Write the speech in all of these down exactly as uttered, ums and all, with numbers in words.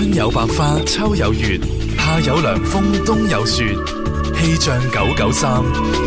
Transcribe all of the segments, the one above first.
春有百花，秋有月，夏有涼風，冬有雪。氣象九九三。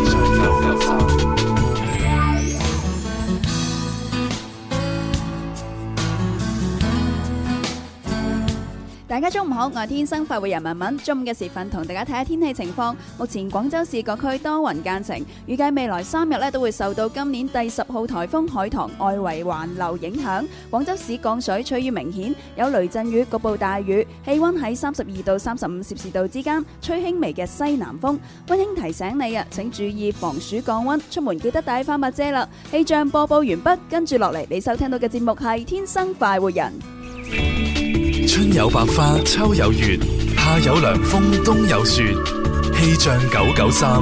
大家中午好，我係天生快活人文文。中午嘅時分同大家睇下天氣情況。目前廣州市各區多雲間晴，預計未來三日咧都會受到今年第十號颱風海棠外圍環流影響。廣州市降水趨於明顯，有雷陣雨，局部大雨，氣溫喺三十二到三十五攝氏度之間，吹輕微嘅西南風。溫馨提醒你啊，請注意防暑降溫，出門記得帶翻把遮啦。氣象播報完畢，跟住落嚟你收聽到嘅節目係天生快活人。 春有百花，秋有月，夏有涼風，冬有雪。氣象九九三。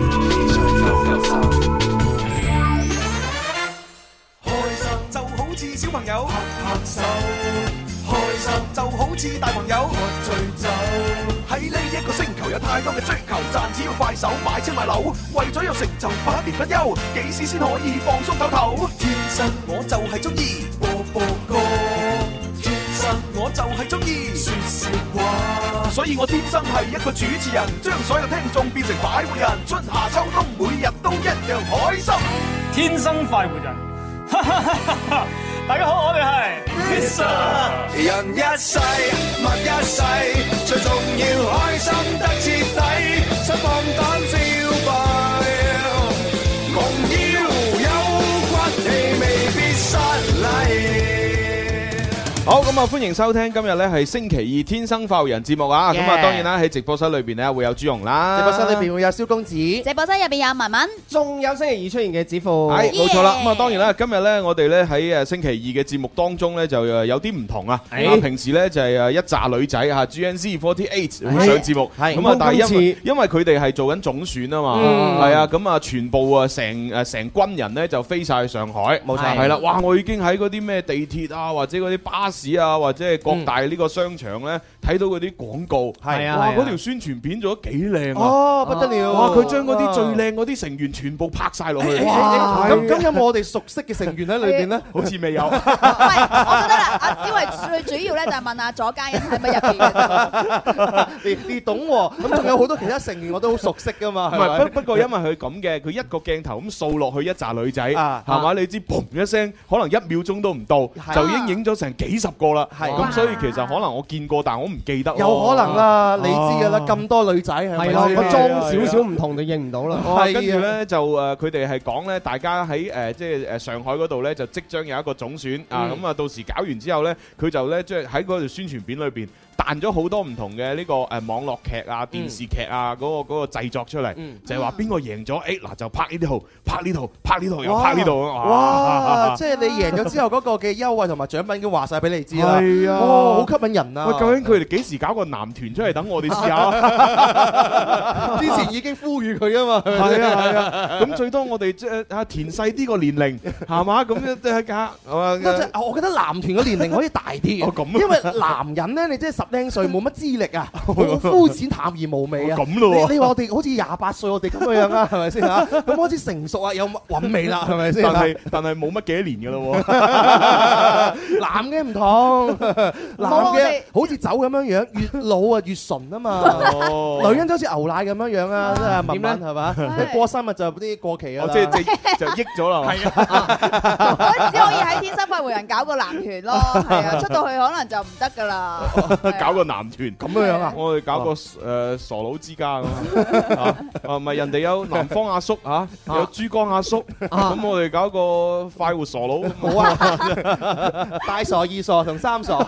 開心就好似小朋友拍拍手，開心就好似大朋友喝醉酒。喺呢一個星球有太多嘅追求，賺錢要快手買車買樓，為咗有成就百年不休，幾時先可以放鬆唞唞？天生我就係中意播播歌，我就係中意說笑話，所以我天生係一個主持人，將所有聽眾變成快活人。春夏秋冬，每日都一樣開心。 天生快活人，大家好，我哋係 Mr. 人一世，物一世，最重要開心得徹底，出放膽消費，夢要有骨氣，未必失禮。 好咁啊！歡迎收聽今日咧係星期二天生快活人節目啊！咁啊，當然啦喺直播室裏邊咧會有朱紅啦， 直播室裏邊會有蕭公子， 直播室入邊有文文， 仲有星期二出現嘅子富， 係冇錯啦。咁啊，當然啦，今日咧我哋咧喺誒星期二嘅節目當中咧就誒有啲唔同啊。啊，平時咧就係誒一紮女仔嚇 G N Z 四十八會上節目，咁啊，但係因為因為佢哋係做緊總選啊嘛，係啊，咁啊全部啊成誒成軍人咧就飛曬去上海，冇錯，係啦，哇！我已經喺嗰啲咩地鐵啊或者嗰啲巴士啊或者係各大呢個商場咧睇到嗰啲廣告，係啊，哇！嗰條宣傳片做得幾靚啊！ 哦，不得了！ 哇！佢將嗰啲最靚嗰啲成員全部拍曬落去。 哇！咁咁有冇我哋熟悉嘅成員喺裏邊咧？ 好似未有。 唔係，我覺得啦，阿因為最主要咧就係問阿左家欣喺咪入邊嘅。 你你懂喎？咁仲有好多其他成員我都好熟悉噶嘛。 唔係，不不過因為佢咁嘅，佢一個鏡頭咁掃落去一紮女仔，係嘛？你知嘣一聲，可能一秒鐘都唔到，就已經影咗成幾十個啦。係咁，所以其實可能我見過，但係我唔記得。 有可能啦，你知㗎啦，咁多女仔係咪？係咯，個裝少少唔同就認唔到啦。 跟住咧就誒，佢哋係講咧，大家喺誒即係誒上海嗰度咧，就即將有一個總選啊！咁啊，到時搞完之後咧，佢就咧即係喺嗰條宣傳片裏邊彈咗好多唔同嘅呢個誒網絡劇啊、電視劇啊嗰個嗰個製作出嚟，就係話邊個贏咗，誒嗱就拍呢套，拍呢套，拍呢套又拍呢套。 哇！即係你贏咗之後嗰個嘅優惠同埋獎品已經話曬俾你知啦。 係啊， 好吸引人啊！ 喂，究竟佢哋幾時搞個男團出嚟等我哋試下？ 之前已經呼籲佢啊嘛。 係啊係啊，咁最多我哋即係啊填細啲個年齡係嘛？咁樣即係㗎。 我覺得男團嘅年齡可以大啲嘅，因為男人咧，你即係十零歲冇乜資歷啊，好膚淺淡而無味啊。 咁咯， 你你話我哋好似廿八歲我哋咁嘅樣啊，係咪先嚇？咁開始成熟啊，有韻味啦，係咪先？ 但係但係冇乜幾多年㗎咯喎。 男嘅唔同，男嘅好似酒咁樣樣，越老啊越純啊嘛。女人就好似牛奶咁樣樣啊，即係慢慢係嘛？過生日就啲過期啊， 即係就益咗啦。係啊，只可以喺天生快活人搞個男團咯，係啊，出到去可能就唔得㗎啦。 搞個男團咁樣樣啊？ 我哋搞個誒傻佬之家咁啊！啊，唔係人哋有南方阿叔嚇，有珠江阿叔，咁我哋搞個快活傻佬好啊！ 大傻、二傻同三傻。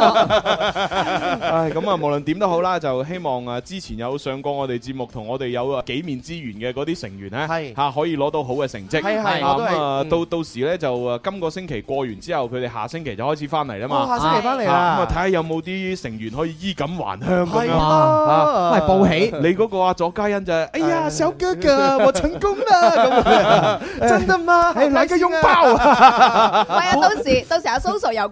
唉，咁啊，無論點都好啦，就希望啊，之前有上過我哋節目同我哋有啊幾面之緣嘅嗰啲成員咧，係嚇可以攞到好嘅成績。係係，咁啊，到到時咧就啊，今個星期過完之後，佢哋下星期就開始翻嚟啦嘛。 下星期翻嚟啦， 咁啊睇下有冇啲成員可以衣錦還鄉咁樣啊！喂，報喜， 你嗰個啊左嘉欣就係，哎呀，小哥哥，我成功啦！咁真的嗎？係來個擁抱啊！ 係啊，到時到時阿蘇 Sir 又過嚟到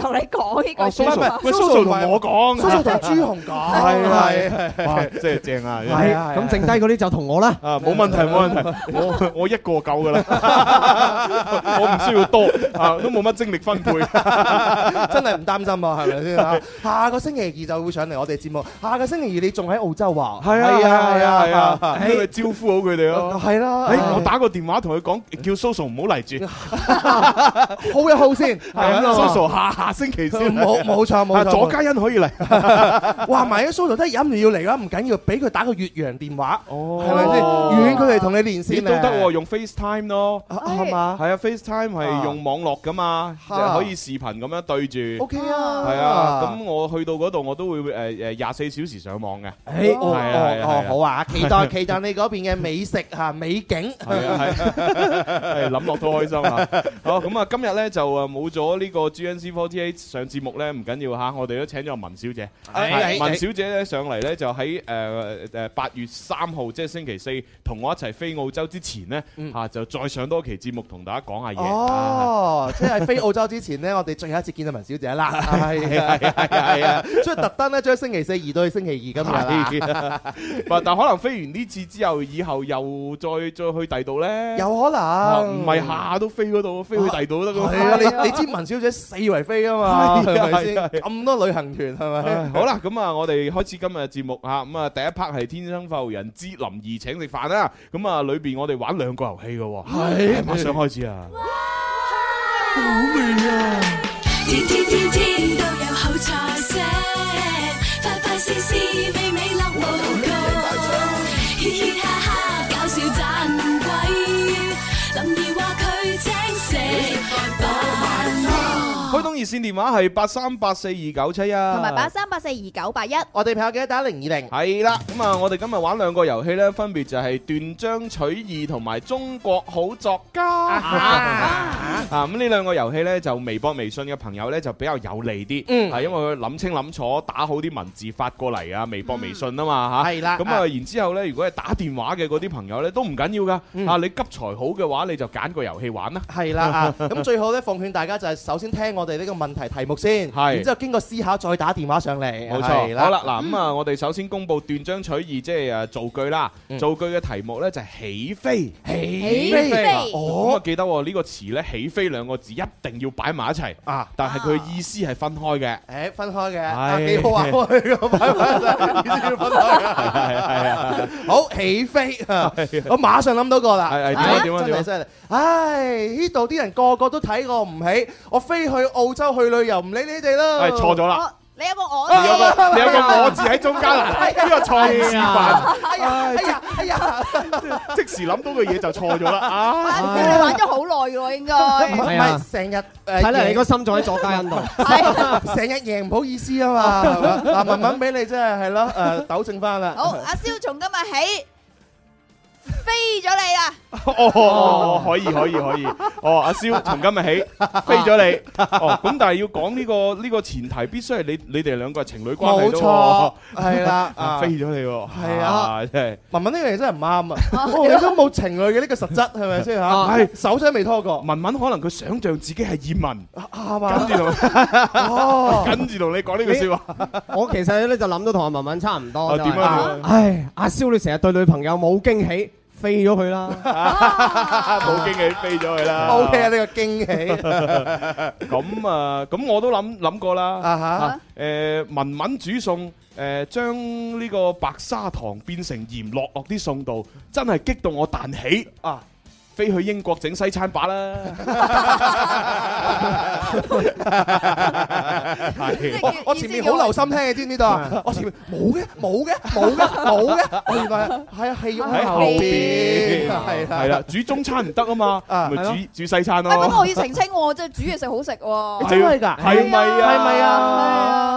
同你講呢個。 蘇蘇，喂，蘇蘇同我講， 蘇蘇同朱紅講， 係係，哇，真係正啊！ 係啊，咁剩低嗰啲就同我啦。 啊，冇問題冇問題，我我一個夠噶啦，我唔需要多啊，都冇乜精力分配， 真係唔擔心啊，係咪先啊？下個星期二就會上嚟我哋節目，下個星期二你仲喺澳洲啊？ 係啊係啊係啊係啊，咁咪招呼好佢哋咯。 係啦， 誒，我打個電話同佢講，叫蘇蘇唔好嚟住， 好一好先，係啊，蘇蘇下下星期先， 冇冇錯冇錯， 左嘉欣可以嚟， 哇！埋啲蘇蘇都忍唔住要嚟啦，唔緊要，俾佢打個越洋電話，係咪先？遠距離同你連線都得喎，用 FaceTime 咯， 係嘛？ 係啊 ，FaceTime 係用網絡噶嘛，可以視頻咁樣對住。 OK 啊， 係啊，咁我去到嗰度我都會誒誒廿四小時上網嘅。 誒，哦哦好啊，期待期待你嗰邊嘅美食嚇美景。 係啊係，諗落都開心啊！好咁啊，今日咧就誒冇咗呢個 G N Z 四十八上節目咧，唔緊要嚇，我哋都請咗文小姐。文小姐咧上嚟咧就喺誒誒八月三號，即係星期四，同我一齊飛澳洲之前咧嚇，就再上多期節目同大家講下嘢。 哦，即係飛澳洲之前咧，我哋最後一次見到文小姐啦。係啊係啊係啊，所以特登咧將星期四移到去星期二今日啦。 但但可能飛完呢次之後，以後又再再去第度咧， 有可能唔係下下都飛嗰度，飛去第度都得㗎。 係啊，你你知文小姐四圍飛啊嘛，係咪先？咁多旅行團係咪？ 好啦，咁啊，我哋開始今日嘅節目嚇，咁啊第一 part 係天生快活人之林兒請食飯啦。咁啊，裏邊我哋玩兩個遊戲嘅喎，係馬上開始啊！ 好味啊！ 天天天天都有好菜色，快快試試美美樂無窮，嘻嘻哈哈搞笑盞鬼，林兒話佢請食飯。 開通熱線電話係八三八四二九七一， 同埋八三八四二九八一。 我哋朋友記得打零二零。 係啦，咁啊，我哋今日玩兩個遊戲咧，分別就係斷章取義同埋中國好作家。啊，咁呢兩個遊戲咧，就微博、微信嘅朋友咧就比較有利啲， 嗯， 係因為佢諗清諗楚，打好啲文字發過嚟啊，微博、微信啊嘛嚇。係啦。咁啊，然之後咧，如果係打電話嘅嗰啲朋友咧，都唔緊要噶。啊，你急才好嘅話，你就揀個遊戲玩啦。 係啦啊，咁最好咧，奉勸大家就係首先聽我哋呢個問題題目先，然之後經過思考再打電話上嚟。 冇錯。好啦，嗱咁啊，我哋首先公佈斷章取義，即係誒造句啦。造句嘅題目咧就係起飛。 起飛。 哦。咁啊，記得呢個詞咧，起飛兩個字一定要擺埋一齊啊！但係佢意思係分開嘅。 誒，分開嘅，啊幾好啊！佢個擺埋一齊，意思要分開嘅。係係啊！好起飛啊！我馬上諗到個啦。係係點啊點啊點啊！真係犀利！唉，呢度啲人個個都睇我唔起，我飛去澳洲去旅遊，唔理你哋啦。係錯咗啦。 你有個我， 你有個你有個我字喺中間啦，呢個錯誤示範。 哎呀哎呀哎呀！ 即時諗到嘅嘢就錯咗啦。啊！ 你玩咗好耐嘅喎，應該。 唔係成日誒， 睇嚟你個心仲喺左家欣度。 係成日贏唔好意思啊嘛。嗱，文文俾你真係係咯誒，糾正翻啦。 好，阿蕭從今日起飛咗你啦！ 哦，可以可以可以。哦，阿蕭從今日起飛咗你。哦，咁但係要講呢個呢個前提，必須係你你哋兩個係情侶關係咯。冇錯， 係啦， 飛咗你喎。 係啊，真係文文呢樣嘢真係唔啱啊！你都冇情侶嘅呢個實質係咪先嚇？係手真係未拖過。 文文可能佢想象自己係葉問， 啱嘛？ 跟住同哦，跟住同你講呢句説話。 我其實咧就諗到同阿文文差唔多。 點啊？ 唉，阿蕭你成日對女朋友冇驚喜。飛咗佢啦， 冇驚喜飛咗佢啦。 O K 啊，呢個驚喜。 咁啊，咁我都諗諗過啦。 啊哈。 誒，文文煮餸，誒，將呢個白砂糖變成鹽落落啲餸度，真係激到我彈起啊！飛去英國整西餐把啦！ 我我前面好留心聽嘅，知唔知道啊？我前面冇嘅，冇嘅，冇嘅，冇嘅。我原來係啊，係喺後邊，係係啦，煮中餐唔得啊嘛，咪煮煮西餐咯。 不過我要澄清喎，即係煮嘢食好食喎。 真係㗎？ 係咪啊？ 係咪啊？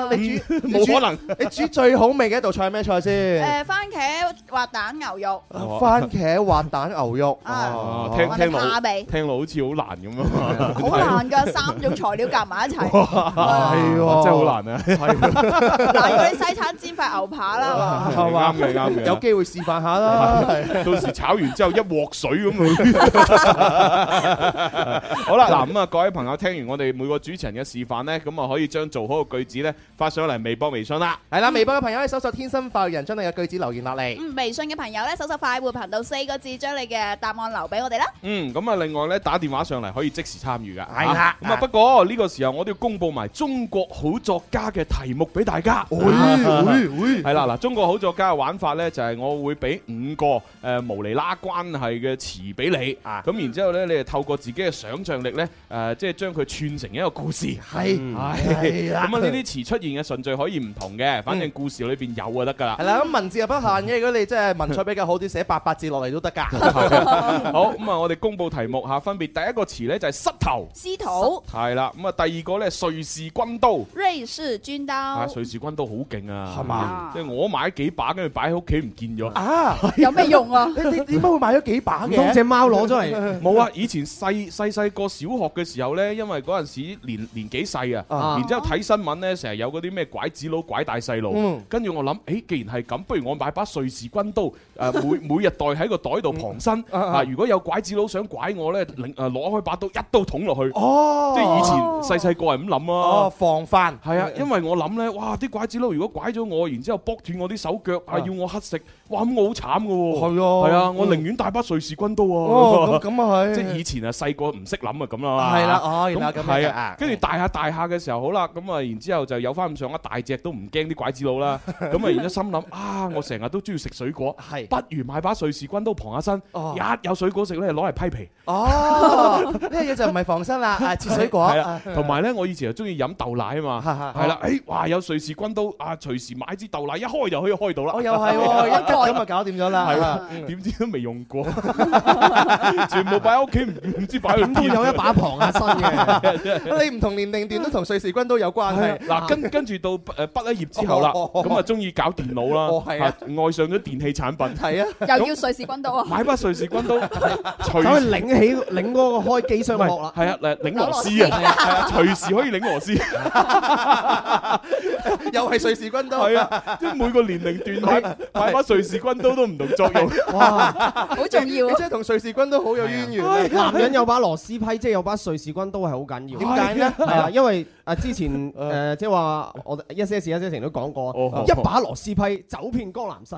你煮冇可能。 你煮最好味嘅一道菜係咩菜先？ 誒，番茄滑蛋牛肉。 番茄滑蛋牛肉。 啊，聽聽落聽落好似好難咁啊！ 好難㗎，三種材料夾埋一齊。 係喎，真係好難啊！ 難過你西餐煎塊牛扒啦， 係嘛？啱嘅，啱嘅。 有機會示範下啦， 到時炒完之後一鑊水咁啊！好啦，嗱咁啊，各位朋友聽完我哋每個主持人嘅示範咧，咁啊可以將做好嘅句子咧發上嚟微博、微信啦。 係啦，微博嘅朋友可以搜索天生快活人，將你嘅句子留言落嚟。 嗯，微信嘅朋友咧搜索快活頻道四個字，將你嘅答案留俾我哋啦。 嗯，咁啊，另外咧打電話上嚟可以即時參與噶。 係啦， 咁啊不過呢個時候我都要公佈埋中國好作家嘅題目俾大家。係啦，嗱，中國好作家嘅玩法咧就係我會俾五個誒無厘啦關係嘅詞俾你，咁然之後咧你係透過自己嘅想像力咧誒，即係將佢串成一個故事。 係係啦。 咁啊呢啲詞出現嘅順序可以唔同嘅，反正故事裏邊有就得㗎啦。 係啦，咁文字又不限嘅，如果你真係文采比較好啲，寫八百字落嚟都得㗎。 好，咁啊我哋公佈題目嚇，分別第一個詞咧就係膝頭。 司徒。 係啦，咁啊第二個咧瑞士軍刀。 瑞士軍刀。 啊，瑞士軍刀好勁啊， 係嘛？ 即係我買幾把，跟住擺喺屋企唔見咗。 啊， 有咩用啊？ 你你點解會買咗幾把嘅？ 當隻貓攞咗嚟。 冇啊！以前細細細個小學嘅時候咧，因為嗰陣時年年紀細啊，然之後睇新聞咧，成日有嗰啲咩拐子佬拐大細路，跟住我諗，誒，既然係咁，不如我買把瑞士軍刀，誒每每日袋喺個袋度旁身，啊，如果有拐子佬想拐我咧，領誒攞開把刀一刀捅落去。哦，即係以前細細個係咁諗啊。 哦，防範。 係啊，因為我諗咧，哇！啲拐子佬如果拐咗我，然之後剝斷我啲手腳，啊，要我乞食，哇！咁我好慘噶喎。係啊，係啊，我寧願帶把瑞士軍刀啊。 哦，咁咁啊係。 即係以前啊，細個唔識諗啊，咁啦。 係啦，哦，原來咁係啊。跟住大下大下嘅時候，好啦，咁啊，然之後就有翻咁上下大隻，都唔驚啲拐子佬啦。咁啊，然之後心諗啊，我成日都中意食水果，係不如買把瑞士軍刀旁下身，一有水果食咧，攞嚟批皮。 哦，呢樣嘢就唔係防身啦，係切水果。 係啊，同埋咧，我以前又中意飲豆奶啊嘛。係啦，誒，哇，有瑞士軍刀啊，隨時買支豆奶一開就可以開到啦。 我又係喎，一開咁就搞掂咗啦。 係啊，點知都未用過，全部擺喺屋企，唔唔知擺喺邊。 都有一把旁下身嘅。 你唔同年齡段都同瑞士軍刀有關係。 嗱，跟跟住到誒畢咗業之後啦，咁啊中意搞電腦啦，愛上咗電器產品。係啊， 又要瑞士軍刀啊！ 買把瑞士軍刀， 隨時擰起擰嗰個開機箱幕啦。 係啊，誒擰螺絲啊，係啊，隨時可以擰螺絲。 又係瑞士軍刀。 係啊，即係每個年齡段買買把瑞士軍刀都唔同作用。 哇， 好重要！ 你真係同瑞士軍刀好有淵源。 男人有把螺絲批，即係有把瑞士軍刀係好緊要。 點解咧？ 係啊，因為啊之前誒即係話我一些事一些情都講過，一把螺絲批走遍江南西。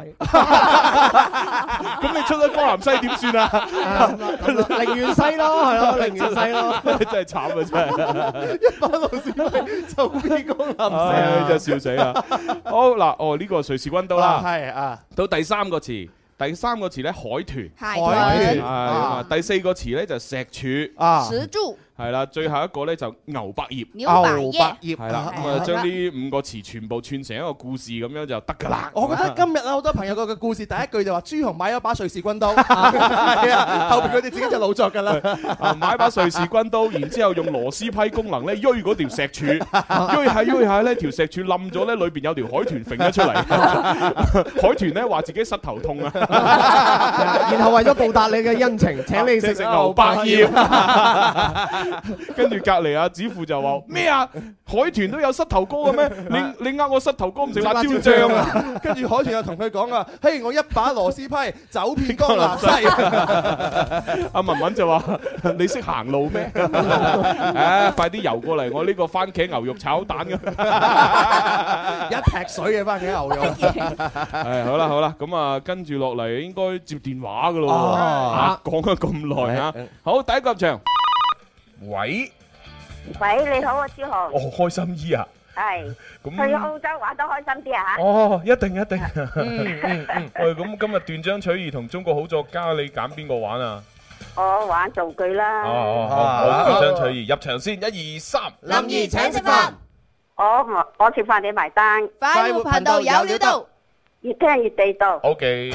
咁你出咗江南西點算啊？ 寧願西咯，係咯，寧願西咯。 真係慘啊！真係一把螺絲批走遍江南西， 真係笑死啊！好嗱，哦呢個瑞士軍刀啦， 係啊， 到第三個詞。第三個詞咧，海豚， 海豚， 係第四個詞咧就石柱， 啊， 石柱， 係啦，最後一個咧就牛百葉， 牛百葉， 係啦，咁啊將呢五個詞全部串成一個故事咁樣就得㗎啦。 我覺得今日啊好多朋友個嘅故事第一句就話朱紅買咗把瑞士軍刀，係啊，後邊佢哋自己就老作㗎啦。 買把瑞士軍刀，然之後用螺絲批功能咧，鋥嗰條石柱，鋥下鋥下咧條石柱冧咗咧，裏邊有條海豚揈咗出嚟。海豚咧話自己膝頭痛啊！ 然後為咗報答你嘅恩情，請你食牛百葉。 跟住隔離阿子富就話咩啊？海豚都有膝頭哥嘅咩？你你呃我膝頭哥唔食辣椒醬啊？ 跟住海豚又同佢講啊，嘿，我一把螺絲批走遍江南西。 阿文文就話：你識行路咩？誒，快啲游過嚟，我呢個番茄牛肉炒蛋咁。 一劈水嘅番茄牛肉。 係好啦好啦，咁啊跟住落嚟應該接電話噶咯喎，講咗咁耐啊！好，第一個入場，喂， 喂，你好啊，朱豪。 哦，開心姨啊， 係， 咁去澳洲玩得開心啲啊嚇。 哦，一定一定。嗯嗯嗯。喂，咁今日斷章取義同中國好作家，你揀邊個玩啊？ 我玩造句啦。 哦哦，好，斷章取義，入場先，一二三。 林怡請食飯。 我我食飯你埋單。 快活頻道有料到。 越聽越地道。 OK。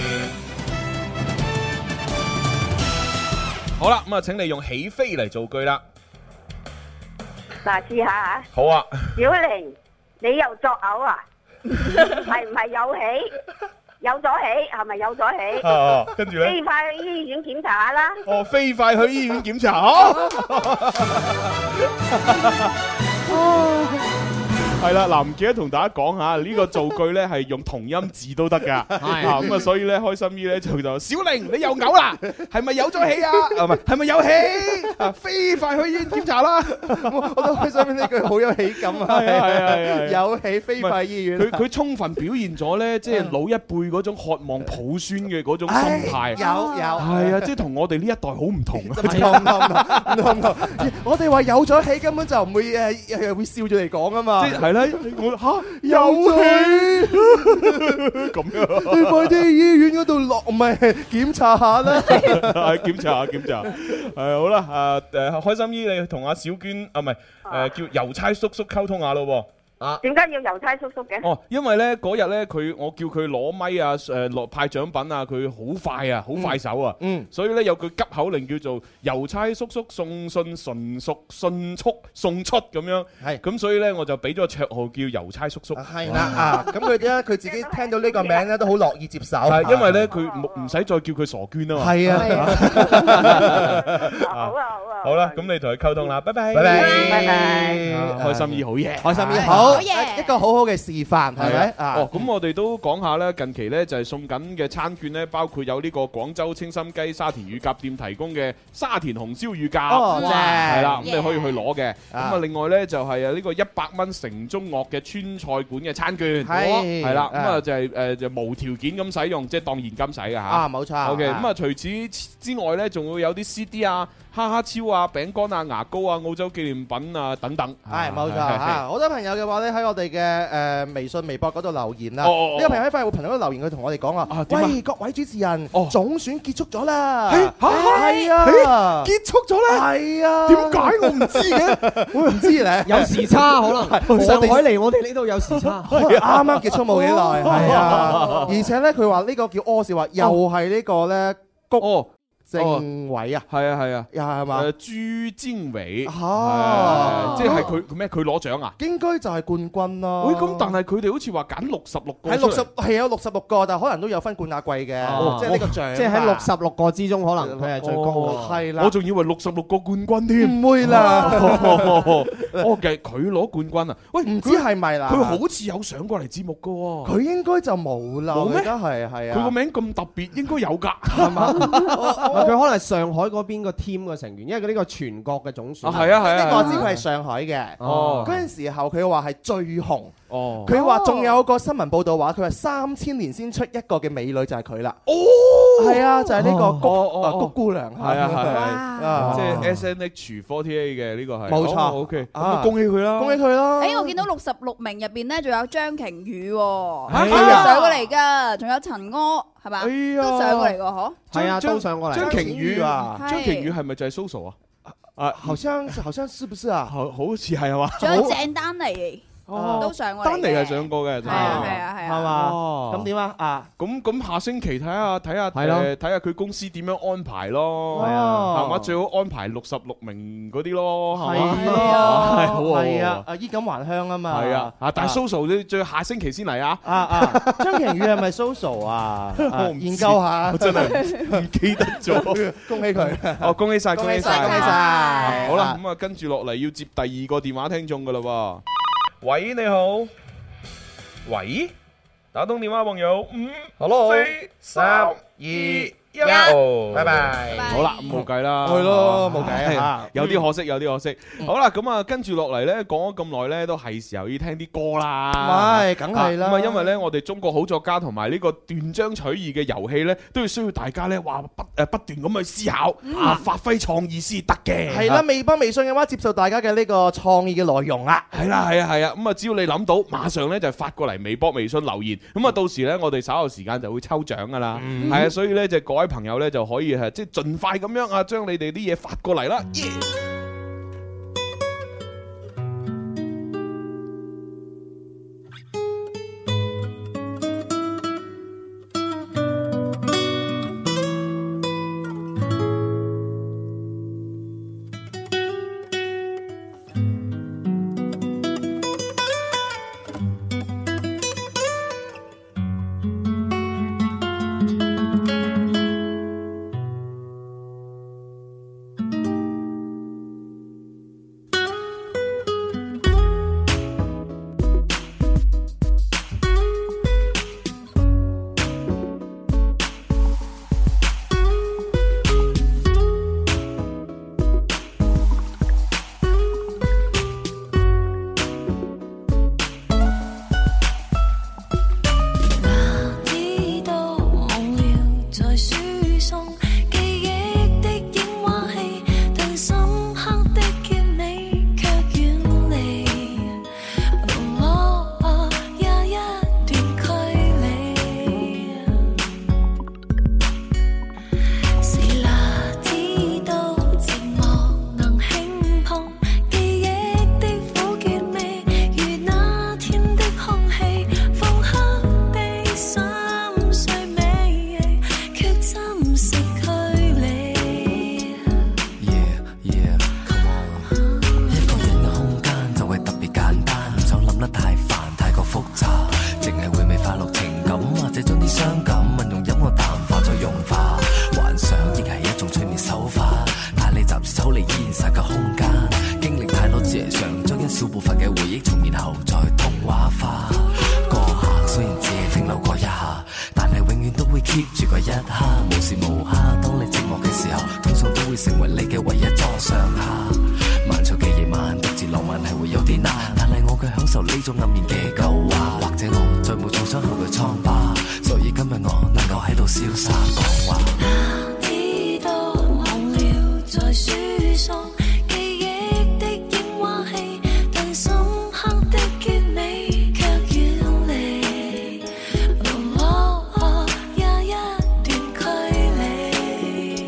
好啦，咁啊，請你用起飛嚟造句啦。 嗱，試下嚇。 好啊。 小玲， 你又作嘔啊？係唔係有喜？有咗喜係咪有咗喜？ 啊，跟住咧， 飛快去醫院檢查下啦。 哦，飛快去醫院檢查。好。係啦，嗱，唔記得同大家講下呢個造句咧係用同音字都得噶，啊咁啊，所以咧開心姨咧就就小玲你又嘔啦，係咪有咗喜啊？啊唔係，係咪有喜？啊，飛快去醫院檢查啦！ 我都開心呢句好有喜感啊！ 係啊係啊係啊， 有喜飛快醫院。 佢佢充分表現咗咧，即係老一輩嗰種渴望抱孫嘅嗰種心態。 有有係啊，即係同我哋呢一代好唔同啊！ 唔同唔同唔同，我哋話有咗喜根本就唔會誒誒會笑住嚟講啊嘛。 即係咧，我嚇有喜咁樣， 你快啲去醫院嗰度落，唔係檢查下啦。 係檢查下檢查，係好啦，啊誒開心姨你同阿小娟啊唔係誒叫郵差叔叔溝通下咯喎。 啊，點解要郵差叔叔嘅？ 哦，因為咧嗰日咧佢我叫佢攞咪啊，誒落派獎品啊，佢好快啊，好快手啊，嗯，所以咧有句急口令叫做郵差叔叔送信純屬迅速送出咁樣，係，咁所以咧我就俾咗個綽號叫郵差叔叔， 係啦啊，咁佢咧佢自己聽到呢個名咧都好樂意接受， 係因為咧佢唔唔使再叫佢傻娟啊嘛， 係啊，好啊好啊， 好啦，咁你同佢溝通啦，拜拜， 拜拜， 拜拜， 開心姨好嘢， 開心姨好。好一個好好嘅示範，係咪？ 哦，咁我哋都講下咧，近期咧就係送緊嘅餐券咧，包括有呢個廣州清心雞沙田乳鴿店提供嘅沙田紅燒乳鴿，係啦，咁你可以去攞嘅。咁啊，另外咧就係啊呢個一百蚊城中樂嘅川菜館嘅餐券，係係啦，咁啊就係誒就無條件咁使用，即係當現金使嘅嚇。啊， 冇錯。 OK，咁啊除此之外咧，仲會有啲 C D 啊、哈哈超啊、餅乾啊、牙膏啊、澳洲紀念品啊等等。 係冇錯嚇，好多朋友嘅話咧喺我哋嘅誒微信、微博嗰度留言啦。呢個朋友喺快活頻道留言，佢同我哋講啊，喂，各位主持人，總選結束咗啦。嚇係啊，結束咗咧。係啊，點解我唔知嘅？我唔知咧， 有時差可能。上海嚟我哋呢度有時差， 啱啱結束冇幾耐。係啊，而且咧佢話呢個叫柯少話，又係呢個咧谷政委啊， 係啊係啊， 又係嘛？ 誒朱經緯，即係佢咩？佢攞獎啊？ 應該就係冠軍咯。 喂，咁但係佢哋好似話揀六十六個， 係六十係有六十六個，但係可能都有分冠亞季嘅，即係呢個獎。 即係喺六十六個之中，可能佢係最高。 係啦， 我仲以為六十六個冠軍添。 唔會啦。 哦，其實佢攞冠軍啊？喂， 唔知係咪啦？ 佢好似有上過嚟節目噶喎。 佢應該就冇啦。 冇咩？ 係係啊。 佢個名咁特別，應該有㗎，係嘛？ 佢可能係上海嗰邊個 team 嘅成員，因為佢呢個全國嘅總選。 啊，係啊係啊， 呢個我知佢係上海嘅。哦，嗰陣時候佢話係最紅。 哦， 佢話仲有個新聞報道話，佢話三千年先出一個嘅美女就係佢啦。哦，係啊，就係呢個谷谷姑娘。 係啊係啊，即係 S N H四十八 嘅呢個係。冇錯 ，OK，咁恭喜佢啦， 恭喜佢啦。 誒，我見到六十六名入邊咧，仲有張瓊宇喎，上過嚟㗎，仲有陳柯係嘛，都上過嚟㗎嗬。 係啊，都上過嚟。 張瓊宇啊，張瓊宇係咪就係 Soso 啊？ 啊，好像好像是不是啊？ 好好似係係嘛？ 仲有鄭丹妮。哦，都上過， 丹尼係上過嘅， 係啊係啊係啊， 係嘛？咁點啊？啊， 咁咁下星期睇下睇下誒睇下佢公司點樣安排咯，係啊，係嘛？最好安排六十六名嗰啲咯，係嘛？ 係啊，係啊，啊衣錦還鄉啊嘛， 係啊，啊但係 Soso 你最下星期先嚟啊！ 啊啊，張瓊宇係咪 Soso 啊？研究下， 我真係唔記得咗， 恭喜佢！ 哦，恭喜晒，恭喜晒， 恭喜晒！ 好啦，咁啊跟住落嚟要接第二個電話聽眾噶啦喎。喂，你好。喂，打通電話朋友，五、 Hello， 四、三、二、一，拜拜。好啦，冇計啦， 係咯，冇計啊， 有啲可惜，有啲可惜。好啦，咁啊，跟住落嚟咧，講咗咁耐咧，都係時候要聽啲歌啦。 唔係，梗係啦。 咁啊，因為咧，我哋中國好作家同埋呢個斷章取義嘅遊戲咧，都要需要大家咧話不誒不斷咁去思考啊，發揮創意先得嘅。 係啦，微博、微信嘅話，接受大家嘅呢個創意嘅內容啦。 係啦，係啊，係啊。咁啊，只要你諗到，馬上咧就發過嚟微博、微信留言。咁啊，到時咧我哋稍後時間就會抽獎噶啦。係啊，所以咧就各位朋友咧就可以係即係盡快咁樣啊，將你哋啲嘢發過嚟啦。 傷感，運用飲我淡化再融化，幻想亦係一種催眠手法，帶你暫時抽離現實嘅空間，經歷太多謝上，將一小部分嘅回憶重現後再童話化。過客雖然只係停留過一下，但係永遠都會 keep 住嗰一刻，無時無刻。當你寂寞嘅時候，通常都會成為你嘅唯一座上客。漫長嘅夜晚，獨自浪漫係會有啲難，但係我卻享受呢種黯然嘅舊話，或者我再冇創傷後嘅瘡疤，所以今日我能夠喺度瀟灑講話。 哪知道忘了在輸送記憶的櫻花戲，但深刻的結尾卻遠離，哦哦也一段距離。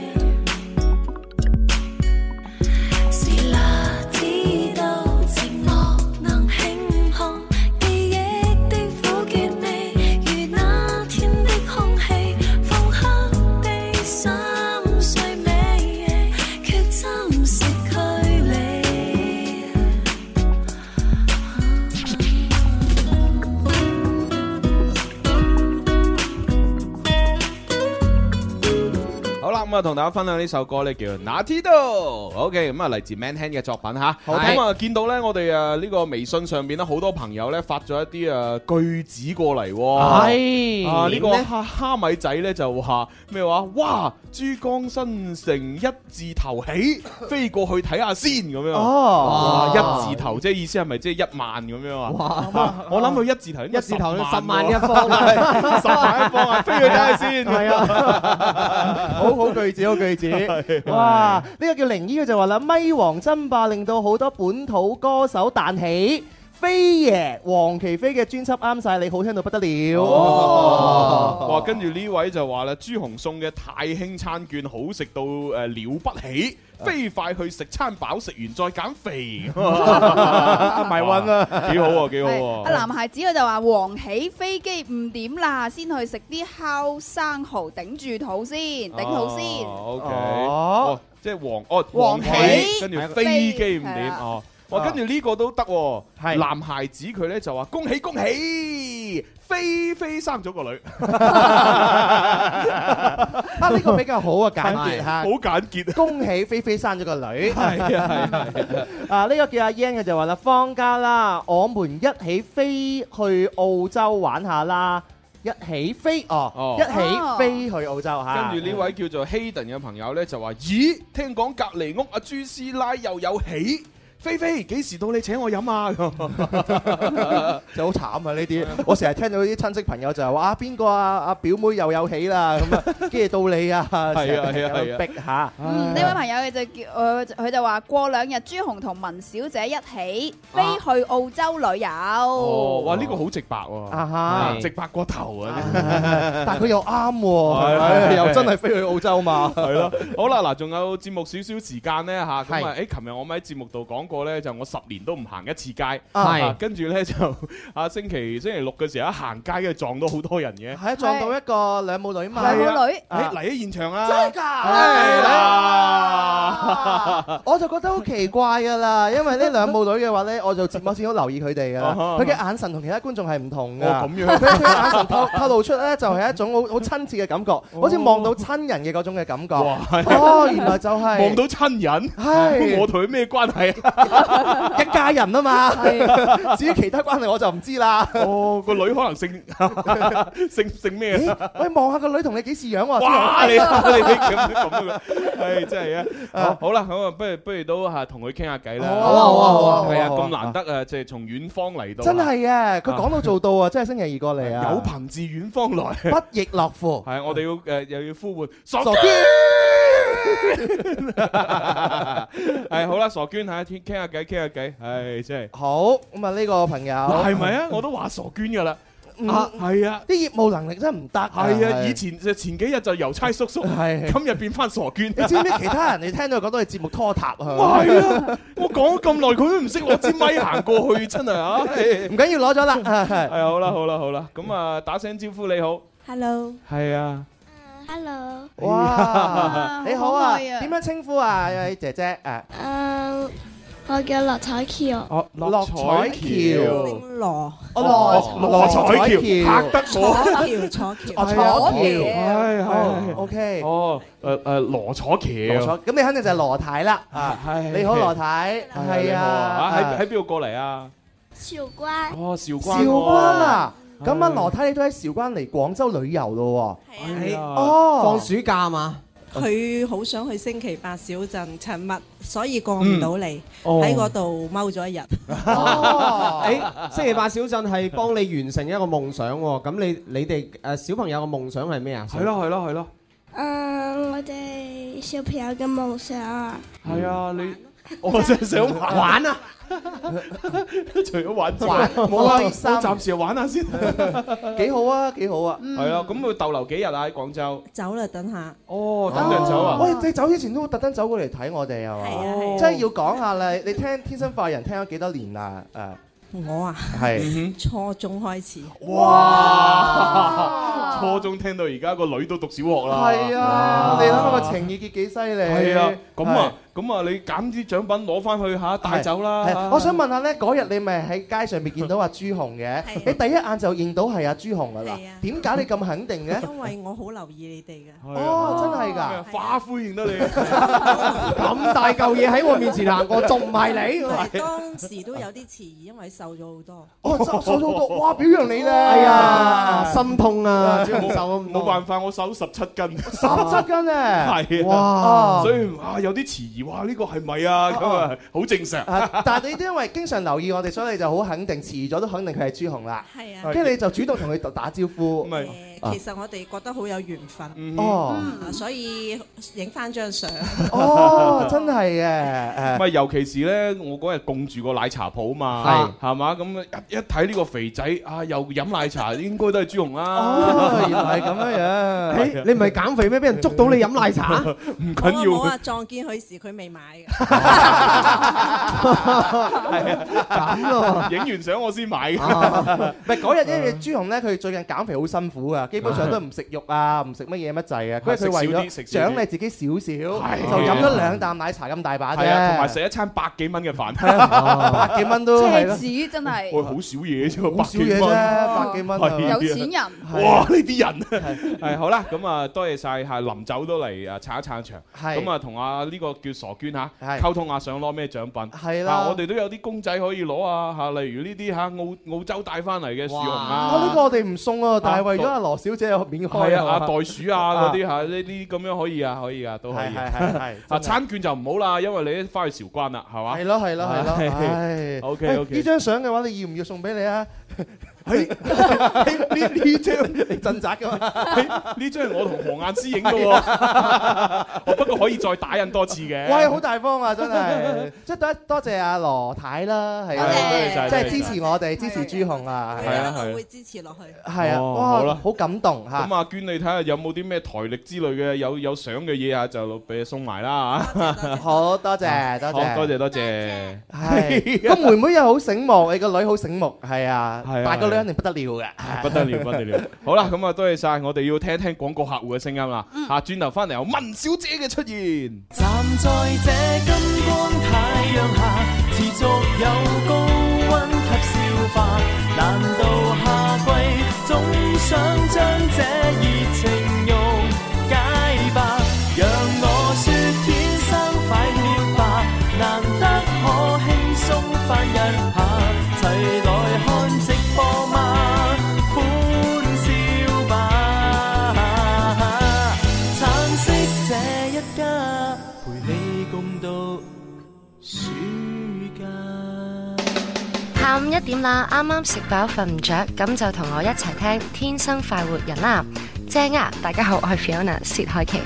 是哪知道寂寞能輕碰記憶的苦澀味，如那天的空氣，風刻地心碎尾，卻侵蝕距離。 好啦，咁啊，同大家分享呢首歌咧，叫《哪知道》。OK，咁啊，嚟自 Manhand 嘅作品吓。咁啊，見到咧，我哋誒呢個微信上邊咧，好多朋友咧發咗一啲誒句子過嚟。 係啊，呢個蝦蝦米仔咧就話咩話？哇！珠江新城一字頭起，飛過去睇下先咁樣。 哦， 一字頭即係意思係咪即係一萬咁樣啊？哇！我諗佢一字頭， 一字頭十萬一方，十萬一方啊！飛去睇下先。 係啊，好好句子，好句子。哇！呢個叫靈醫，佢就話啦，咪王爭霸令到好多本土歌手彈起。飛爺黃琪飛嘅專輯啱晒你，好聽到不得了。 哦，哇！跟住呢位就話啦，朱紅送嘅太興餐券好食到誒了不起，飛快去食餐飽，食完再減肥。 埋運啊， 幾好啊，幾好啊！ 阿男孩子佢就話黃起飛機唔點啦，先去食啲烤生蠔頂住肚先，頂肚先。 O K，哦，即係黃哦黃起，跟住飛機唔點哦。哇！跟住呢個都得喎，男孩子佢咧就話恭喜恭喜，菲菲生咗個女。 啊，呢個比較好啊，簡潔嚇， 好簡潔。 恭喜菲菲生咗個女。 係啊係啊。啊，呢個叫阿 Yan 嘅就話啦，放假啦，我們一起飛去澳洲玩下啦。一起飛哦，一起飛去澳洲嚇。 跟住呢位叫做 Hayden 嘅朋友咧就話：咦，聽講隔離屋阿朱師奶又有喜。菲菲幾時到你請我飲啊？ 就好慘啊！呢啲我成日聽到啲親戚朋友就係話啊邊個啊阿表妹又有喜啦咁啊，跟住到你啊，係啊係啊係啊， 逼下。 嗯，呢位朋友佢就叫誒佢就話過兩日朱紅同文小姐一起飛去澳洲旅遊。 哦，哇！呢個好直白喎，直白過頭啊！ 但係佢又啱喎，又真係飛去澳洲嘛。 係咯，好啦，嗱，仲有節目少少時間咧嚇，咁啊，誒，琴日我咪喺節目度講過咧，就我十年都唔行一次街，係跟住咧就啊星期星期六嘅時候一行街，跟住撞到好多人嘅， 係撞到一個兩母女嘛， 兩母女， 誒嚟喺現場啊， 真係㗎，係啦，我就覺得好奇怪㗎啦，因為呢兩母女嘅話咧，我就節目先好留意佢哋㗎啦，佢嘅眼神同其他觀眾係唔同㗎， 咁樣， 佢佢眼神透透露出咧就係一種好好親切嘅感覺，好似望到親人嘅嗰種嘅感覺，哦，原來就係望到親人，係我同佢咩關係啊？ 一家人啊嘛，至於其他關係我就唔知啦。 哦，個女可能姓姓姓咩啊？ 喂，望下個女同你幾時樣喎？ 哇！你你你咁咁啊？係真係啊！好啦，好啊，不如不如都嚇同佢傾下偈啦。 好啊好啊好啊！ 係啊，咁難得啊，即係從遠方嚟到。 真係啊！佢講到做到啊！真係星期二過嚟啊！ 有朋自遠方來， 不亦樂乎。 係我哋要誒又要呼喚傻娟。係好啦，傻娟嚇，傾傾下偈，傾下偈，係真係好咁啊！呢個朋友係咪啊？我都話傻娟噶啦，啊係啊， 啲業務能力真係唔得。 係啊，以前就前幾日就郵差叔叔，係今日變翻傻娟。 你知唔知其他人你聽到講到係節目拖沓啊？ 係啊，我講咗咁耐，佢都唔識攞支咪行過去，真係啊！ 唔緊要，攞咗啦。 係好啦，好啦，好啦，咁啊，打聲招呼你好 ，Hello， 係啊。 Hello， 哇，你好啊，點樣稱呼啊？姐姐誒， 誒， 我叫羅彩橋。 哦，樂彩橋。 姓羅。 哦，羅羅彩橋。嚇得我。 楚橋，楚橋。 哦，楚橋。 係係。 OK。 哦，誒誒，羅楚橋。 咁你肯定就係羅太啦。啊，係。你好，羅太。係啊。 喺喺邊度過嚟啊？ 韶關。 哦，韶關。 韶關啊！咁啊，羅太你都喺韶關嚟廣州旅遊咯喎。 係啊。 哦。 放暑假嘛？ 佢好想去星期八小鎮尋日，所以過唔到嚟，喺嗰度踎咗一日。 哦，誒，星期八小鎮係幫你完成一個夢想喎。咁你你哋誒小朋友嘅夢想係咩啊？ 係咯係咯係咯。 誒，我哋小朋友嘅夢想啊。 係啊，你我真係想玩啊！除咗玩之外，冇啊，我暫時玩下先。 幾好啊，幾好啊。 係啊，咁會逗留幾日啊？喺廣州。 走啦，等下。 哦，等陣走啊！ 喂，你走之前都特登走過嚟睇我哋係嘛？ 係啊， 真係要講下啦！你聽《天生快活人》聽咗幾多年啦？誒。 我啊， 係初中開始。 哇！ 初中聽到而家個女都讀小學啦。 係啊，你諗下個情意結幾犀利。 係啊，咁啊，咁啊，你揀啲獎品攞翻去嚇帶走啦。 我想問下咧，嗰日你咪喺街上面見到阿朱紅嘅？你第一眼就認到係阿朱紅噶啦。點解你咁肯定嘅？ 因為我好留意你哋嘅。 哦，真係㗎， 花灰認得你。 咁大嚿嘢喺我面前行過，仲唔係你？ 當時都有啲遲疑，因為瘦咗好多。 哦，瘦瘦咗好多，哇！表揚你咧。 哎呀，心痛啊！ 冇冇辦法，我瘦十七斤。 十七斤啊！ 係哇！ 所以啊，有啲遲疑，哇！呢個係咪啊？咁啊，好正常。 但係你都因為經常留意我哋，所以你就好肯定，遲咗都肯定佢係朱紅啦。 係啊。 跟住你就主動同佢打招呼。 誒，其實我哋覺得好有緣分。 哦。 所以影翻張相。 哦，真係嘅。 唔係，尤其是咧，我嗰日供住個奶茶鋪嘛，係係嘛，咁一一睇呢個肥仔啊，又飲奶茶，應該都係朱紅啦。 哦，原來係咁樣樣。 你唔係減肥咩？俾人捉到你飲奶茶？ 唔緊要。 我啊撞見佢時，佢未買嘅。 係啊，咁咯。影完相我先買嘅。 唔係嗰日，因為朱紅咧，佢最近減肥好辛苦噶，基本上都唔食肉啊，唔食乜嘢乜滯啊。佢佢為咗獎勵自己少少，就飲咗兩啖奶茶咁大把啫。 係啊，同埋食一餐百幾蚊嘅飯。 百幾蚊都奢侈真係。 喂，好少嘢啫， 好少嘢啫，百幾蚊。 有錢人。 哇！呢啲人係好啦，咁啊多謝晒，係臨走都嚟啊撐一撐場。咁啊同啊呢個叫傻娟嚇溝通下，想攞咩獎品？ 係啦， 我哋都有啲公仔可以攞啊嚇，例如呢啲嚇澳澳洲帶翻嚟嘅樹熊啊。 呢個我哋唔送啊，但係為咗阿羅小姐免開。 係啊，袋鼠啊嗰啲嚇，呢啲咁樣可以啊，可以啊，都可以。 係係係。 啊餐券就唔好啦，因為你翻去韶關啦，係嘛？ 係咯係咯係咯。 OK OK。 呢張相嘅話，你要唔要送俾你啊？ 呢呢張你鎮宅噶嘛？ 呢張係我同何雁詩影嘅喎，我不過可以再打印多次嘅。 喂，好大方啊，真係！即係多多謝阿羅太啦，係啊，即係支持我哋，支持朱紅啊， 係啊，係會支持落去。 係啊，哇，好感動嚇！ 咁阿娟，你睇下有冇啲咩台歷之類嘅有有相嘅嘢啊，就俾你送埋啦嚇。 好多謝多謝多謝多謝。 係個妹妹又好醒目，你個女好醒目，係啊，大個女肯定不得了嘅， 不得了不得了。好啦，咁啊多謝晒，我哋要聽一聽廣告客戶嘅聲音啦。嚇，轉頭翻嚟有文小姐嘅出現。 站在這金光太陽下，持續有高溫及消化。難道夏季總想將這熱情溶解吧？讓我說天生快活吧，難得可輕鬆翻一下，齊來看直播嗎？歡笑吧，橙色這一家，陪你共度暑假。 下午一點啦，啱啱食飽瞓唔着，咁就同我一齊聽《天生快活人》啦，正啊！大家好，我係 Fiona 薛凱琪。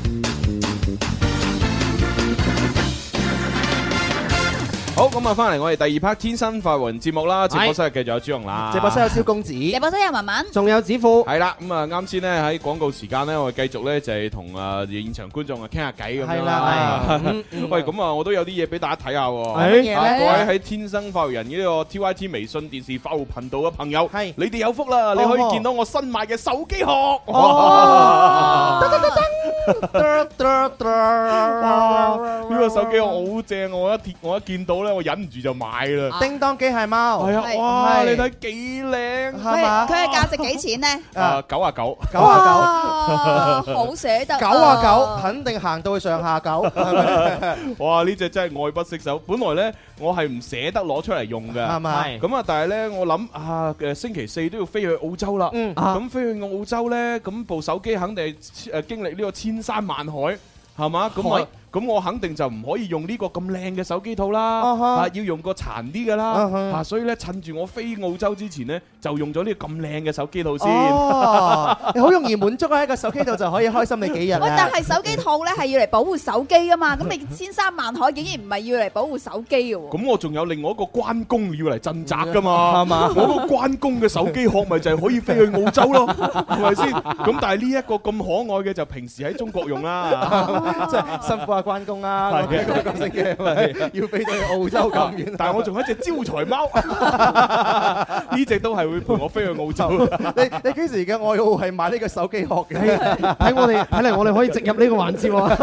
好，咁啊，翻嚟我哋第二 part 天生快活人節目啦，直播室繼續有朱紅啦， 直播室有蕭公子， 直播室有文文， 仲有子富， 係啦，咁啊啱先咧喺廣告時間咧，我哋繼續咧就係同啊現場觀眾啊傾下偈咁樣啦。喂，咁啊我都有啲嘢俾大家睇下喎。 乜嘢咧？ 各位喺天生快活人呢個 T Y T 微信電視快活頻道嘅朋友，係你哋有福啦，你可以見到我新買嘅手機殼。 哇！呢個手機好正，我一我一見到咧，我忍唔住就買啦。 叮當機械貓， 係啊！哇！你睇幾靚係嘛？佢係價值幾錢咧？ 啊，九啊九， 九啊九，好捨得。 九啊九，肯定行到去上下九。 哇！呢隻真係愛不釋手。本來咧，我係唔捨得攞出嚟用嘅， 係咪？ 咁啊，但係咧，我諗啊，誒星期四都要飛去澳洲啦。 嗯， 咁飛去澳洲咧，咁部手機肯定係誒經歷呢個千山萬海，係嘛？咁我咁我肯定就唔可以用呢個咁靚嘅手機套啦，啊要用個殘啲嘅啦，啊所以咧趁住我飛澳洲之前咧，就用咗呢個咁靚嘅手機套先。 哦，你好容易滿足喺一個手機套就可以開心你幾日。 喂，但係手機套咧係要嚟保護手機噶嘛，咁你千山萬海竟然唔係要嚟保護手機嘅喎？ 咁我仲有另外一個關公要嚟鎮宅噶嘛，係嘛？我個關公嘅手機殼咪就係可以飛去澳洲咯，係咪先？咁但係呢一個咁可愛嘅就平時喺中國用啦， 即係辛苦下關公啦，係嘅，個星期要飛到去澳洲咁遠， 但係我仲有一隻招財貓，呢隻都係會陪我飛去澳洲。 你你幾時嘅愛好係買呢個手機殼嘅？ 睇我哋睇嚟，我哋可以植入呢個環節喎。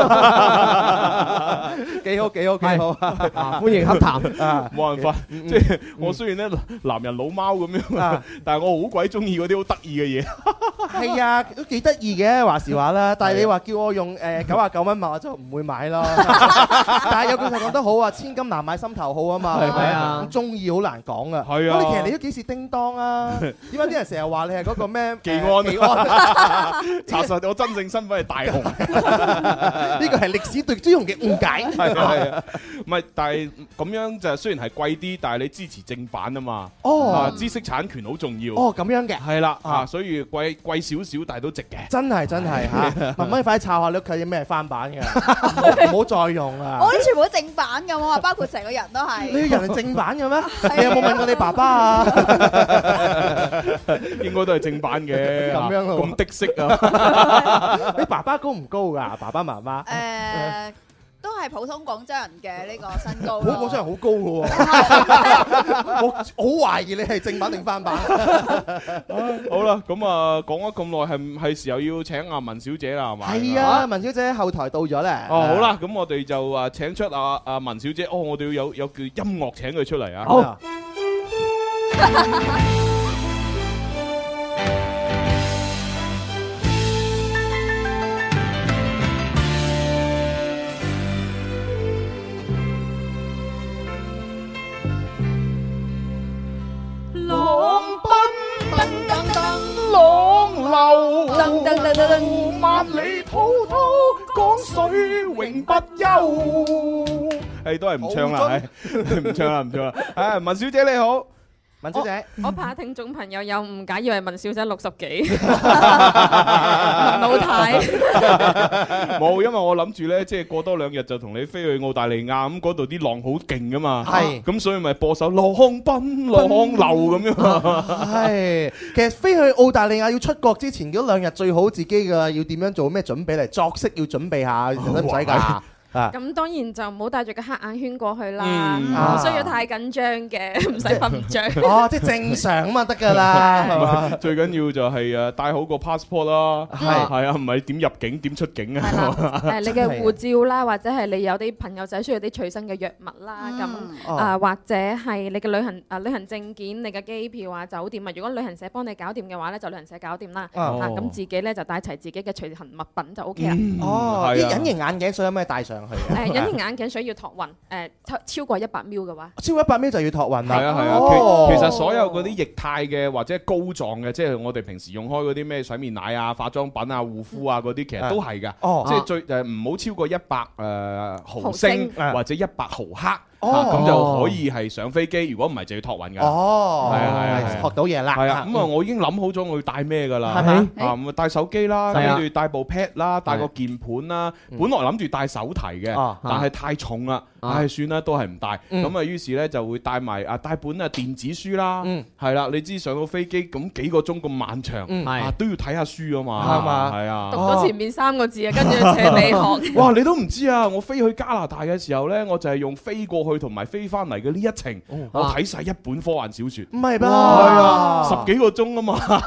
幾好幾好幾好， 歡迎洽談啊！冇辦法，即係我雖然咧男人老貓咁樣，但係我好鬼中意嗰啲好得意嘅嘢。 係啊，都幾得意嘅話時話啦。但係你話叫我用誒九啊九蚊買，我就唔會買咯。但係有句話講得好啊，千金難買心頭好啊嘛，係咪啊？中意好難講啊。係啊。咁你其實你都幾時叮當啊？點解啲人成日話你係嗰個咩？ 技安。技安。查實我真正身份係大雄。 呢個係歷史對朱紅嘅誤解。 係啊。唔係，但係咁樣就雖然係貴啲，但係你支持正版啊嘛。哦。知識產權好重要。 哦，咁樣嘅。 係啦。啊，所以貴貴少少，但係都值嘅。 真係真係嚇。慢慢快啲抄下你屋企有咩翻版嘅。唔好再用啦！ 我啲全部都正版㗎，我話包括成個人都係。 你個人係正版嘅咩？你有冇問過你爸爸啊？ 應該都係正版嘅。 咁樣咯， 咁的色啊！ 你爸爸高唔高㗎？爸爸媽媽？ 誒，都係普通廣州人嘅呢個身高。 普通廣州人好高㗎喎！我好懷疑你係正版定翻版。 好啦，咁啊講咗咁耐，係係時候要請阿文小姐啦，係嘛？ 係啊，文小姐喺後台到咗咧。 哦，好啦，咁我哋就啊請出阿阿文小姐。哦，我哋要有有叫音樂請佢出嚟啊！ 好。 浪奔噔噔噔，浪流噔噔噔噔，萬里滔滔，江水永不休。 誒，都係唔唱啦，唔唱啦，唔唱啦。誒，文小姐你好。 文小姐， 我怕聽眾朋友有誤解，以為文小姐六十幾，文老太。 冇，因為我諗住咧，即係過多兩日就同你飛去澳大利亞，咁嗰度啲浪好勁噶嘛。係，咁所以咪播首浪奔浪流咁樣。 係，其實飛去澳大利亞要出國之前嗰兩日最好自己嘅要點樣做咩準備嚟？作息要準備下，使唔使㗎？ 咁當然就唔好帶住個黑眼圈過去啦，唔需要太緊張嘅，唔使瞓唔着。 哦，即係正常咁啊得㗎啦。 最緊要就係誒帶好個 passport 啦，係係啊，唔係點入境點出境啊？ 誒，你嘅護照啦，或者係你有啲朋友仔需要啲隨身嘅藥物啦，咁啊或者係你嘅旅行啊旅行證件、你嘅機票啊、酒店啊，如果旅行社幫你搞掂嘅話咧，就旅行社搞掂啦。啊，咁自己咧就帶齊自己嘅隨行物品就 O K 啦。 哦，啲隱形眼鏡水有咩帶上？誒隱形眼鏡水要託運，誒超超過一百 ml 嘅話， 超過一百 ml 就要託運啦。 係啊係啊，其其實所有嗰啲液態嘅或者膏狀嘅，即係我哋平時用開嗰啲咩洗面奶啊、化妝品啊、護膚啊嗰啲，其實都係㗎。哦，即係最誒唔好超過一百誒毫升或者一百毫克。哦，咁就可以係上飛機，如果唔係就要託運㗎。哦，係啊係啊， 學到嘢啦。 係啊，咁啊我已經諗好咗我要帶咩㗎啦。係咪？啊咁啊帶手機啦，跟住帶部 pad 啦，帶個鍵盤啦。本來諗住帶手提嘅，但係太重啦，唉算啦，都係唔帶。咁啊於是咧就會帶埋啊帶本啊電子書啦。嗯，係啦，你知上到飛機咁幾個鐘咁漫長，啊都要睇下書啊嘛。係嘛？係啊。 讀咗前面三個字啊，跟住扯你學。 哇！你都唔知啊！我飛去加拿大嘅時候咧，我就係用飛過去同埋飛翻嚟嘅呢一程，我睇晒一本科幻小説。 唔係吧？ 係啊，十幾個鐘啊嘛。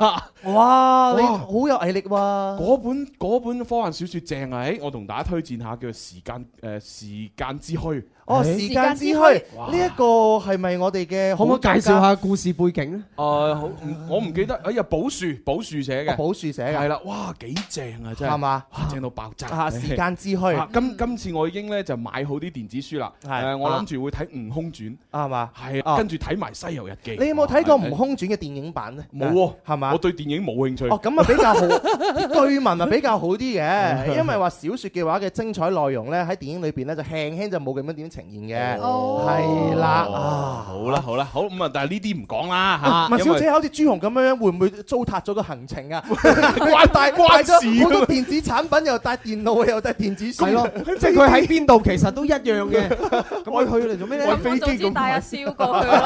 哇！你好有毅力喎。 嗰本嗰本科幻小説正啊！誒，我同大家推薦下叫做《時間誒時間之虛》。 哦，時間之虛呢一個係咪我哋嘅？ 可唔可以介紹下故事背景咧？ 誒，好，我唔記得。哎呀，寶樹寶樹寫嘅， 寶樹寫嘅係啦，哇，幾正啊！真係係嘛？ 正到爆炸。 啊，時間之虛。 今今次我已經咧就買好啲電子書啦。誒，我諗住會睇《悟空傳》 係嘛？ 係啊，跟住睇埋《西遊日記》。 你有冇睇過《悟空傳》嘅電影版咧？ 冇喎， 係嘛？ 我對電影冇興趣。 哦，咁啊比較好，據聞啊比較好啲嘅，因為話小説嘅話嘅精彩內容咧喺電影裏邊咧就輕輕就冇咁樣點呈現嘅。係啦，啊， 好啦好啦，好咁啊，但係呢啲唔講啦嚇。 麥小姐好似朱紅咁樣，會唔會糟蹋咗個行程啊？關帶關咗好多電子產品，又帶電腦，又帶電子書。 係咯，即係佢喺邊度其實都一樣嘅。咁佢去嚟做咩咧？ 咁我早知帶阿蕭過去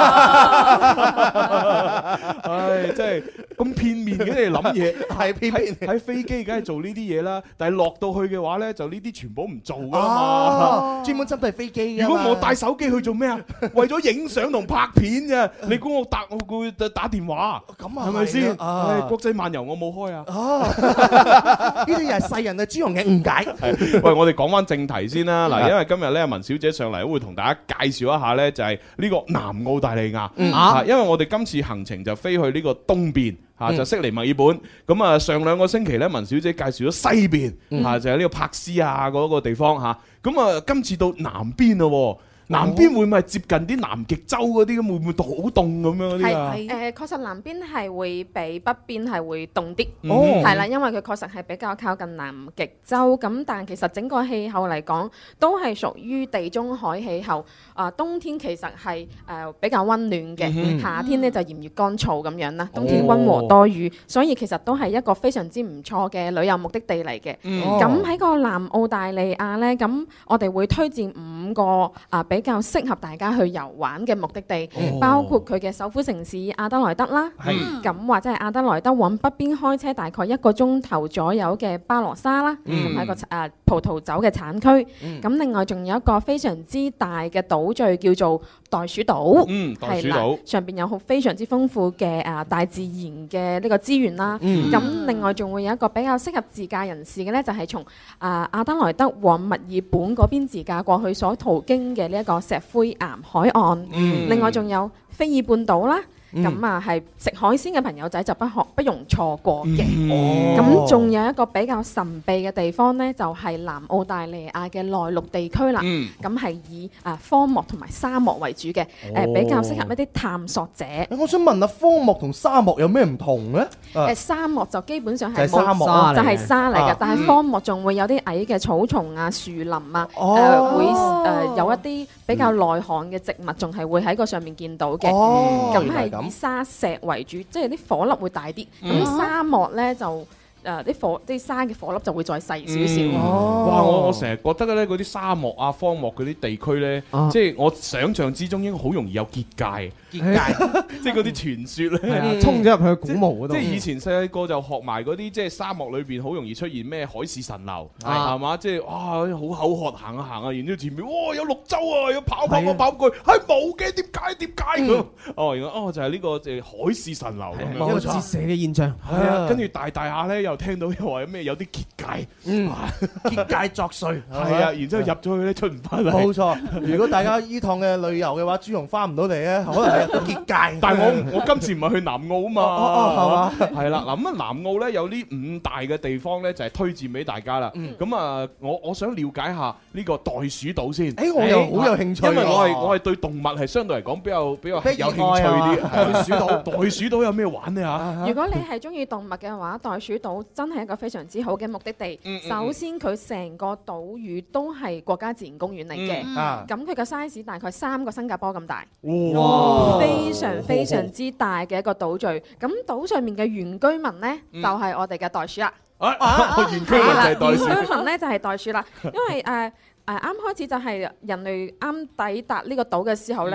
啦。唉，真係咁片面嘅你諗嘢， 係片面。 喺飛機梗係做呢啲嘢啦，但係落到去嘅話咧，就呢啲全部唔做㗎嘛。 專門針對飛機㗎。 如果我帶手機去做咩啊？為咗影相同拍片啫。你估我打我會打電話？ 咁啊， 係咪先？ 啊， 國際漫遊我冇開啊。 呢啲又係世人對朱紅嘅誤解。 喂，我哋講翻正題先啦。嗱，因為今日咧文小姐上嚟，會同大家介紹一下咧，就係呢個南澳大利亞。啊，因為我哋今次行程就飛去呢個東邊。嚇就悉尼墨爾本，咁啊上兩個星期咧，文小姐介紹咗西邊，嚇就係呢個珀斯啊嗰個地方嚇，咁啊今次到南邊咯。南邊會唔會接近啲南極洲嗰啲咁？會唔會好凍咁樣嗰啲啊？ 係誒，確實南邊係會比北邊係會凍啲， 哦係啦，因為佢確實係比較靠近南極洲。咁但係其實整個氣候嚟講，都係屬於地中海氣候。啊，冬天其實係誒比較温暖嘅，夏天咧就炎熱乾燥咁樣啦。冬天温和多雨，所以其實都係一個非常之唔錯嘅旅遊目的地嚟嘅。咁喺個南澳大利亞咧，咁我哋會推薦五個啊比比較適合大家去遊玩嘅目的地，哦、包括佢嘅首府城市阿德萊德啦，咁、嗯、或者係阿德萊德往北邊開車大概一個鐘頭左右嘅巴羅沙啦，咁係、嗯、一個誒、呃、葡萄酒嘅產區。咁、嗯、另外仲有一個非常之大嘅島嶼叫做袋鼠島， 嗯，袋鼠島上邊有好非常之豐富嘅誒、呃、大自然嘅呢個資源啦。咁、嗯、另外仲會有一個比較適合自駕人士嘅呢，就係、是、從誒、呃、阿德萊德往墨爾本嗰邊自駕過去所途經嘅呢一個石灰岩海岸。嗯、另外仲有菲爾半島啦。咁啊，係食海鮮嘅朋友仔就不可不容錯過嘅。咁仲有一個比較神秘嘅地方呢，就係南澳大利亞嘅內陸地區啦。咁係以啊荒漠同埋沙漠為主嘅，誒比較適合一啲探索者。 我想問下，荒漠同沙漠有咩唔同呢？ 誒沙漠就基本上係沙漠， 就係沙嚟嘅，但係荒漠仲會有啲矮嘅草叢啊、樹林啊，誒會誒有一啲比較耐旱嘅植物，仲係會喺個上面見到嘅。咁係以沙石為主，即係啲火粒會大啲。咁、嗯、沙漠咧就誒啲、呃、火啲沙嘅火粒就會再細少少。 嗯哦、哇！我我成日覺得咧，嗰啲沙漠啊、荒漠嗰啲地區咧，啊、即係我想象之中應該好容易有結界。結界，即係嗰啲傳說咧， 衝咗入去古墓嗰度。 即係以前細個就學埋嗰啲，即係沙漠裏邊好容易出現咩海市蜃樓，係嘛？即係哇，好口渴行啊行啊，然之後前面哇有綠洲啊，要跑跑跑跑過去，係冇嘅，點解點解咁？哦，原來哦就係呢個誒海市蜃樓咁樣， 一個折射嘅現象。 係啊，跟住大大下咧又聽到又話咩有啲結界， 嗯，結界作祟， 係啊，然之後入咗去咧出唔翻嚟。 冇錯，如果大家呢趟嘅旅遊嘅話，朱紅翻唔到嚟咧，可能。結界， 但係我我今次唔係去南澳啊嘛，係啦，嗱咁啊南澳咧有呢五大嘅地方咧就係推薦俾大家啦。咁啊，我我想了解下呢個袋鼠島先。 誒，我又好有興趣， 因為我係我係對動物係相對嚟講比較比較有興趣啲。袋鼠島，袋鼠島有咩玩呢嚇？ 如果你係中意動物嘅話，袋鼠島真係一個非常之好嘅目的地。首先佢成個島嶼都係國家自然公園嚟嘅，咁佢嘅 size 大概三個新加坡咁大。哇！非常非常之大嘅一個島嶼，咁島上面嘅原居民呢，就係我哋嘅袋鼠啦。 啊，原居民就係袋鼠。 原居民呢就係袋鼠啦，因為誒誒啱開始就係人類啱抵達呢個島嘅時候呢，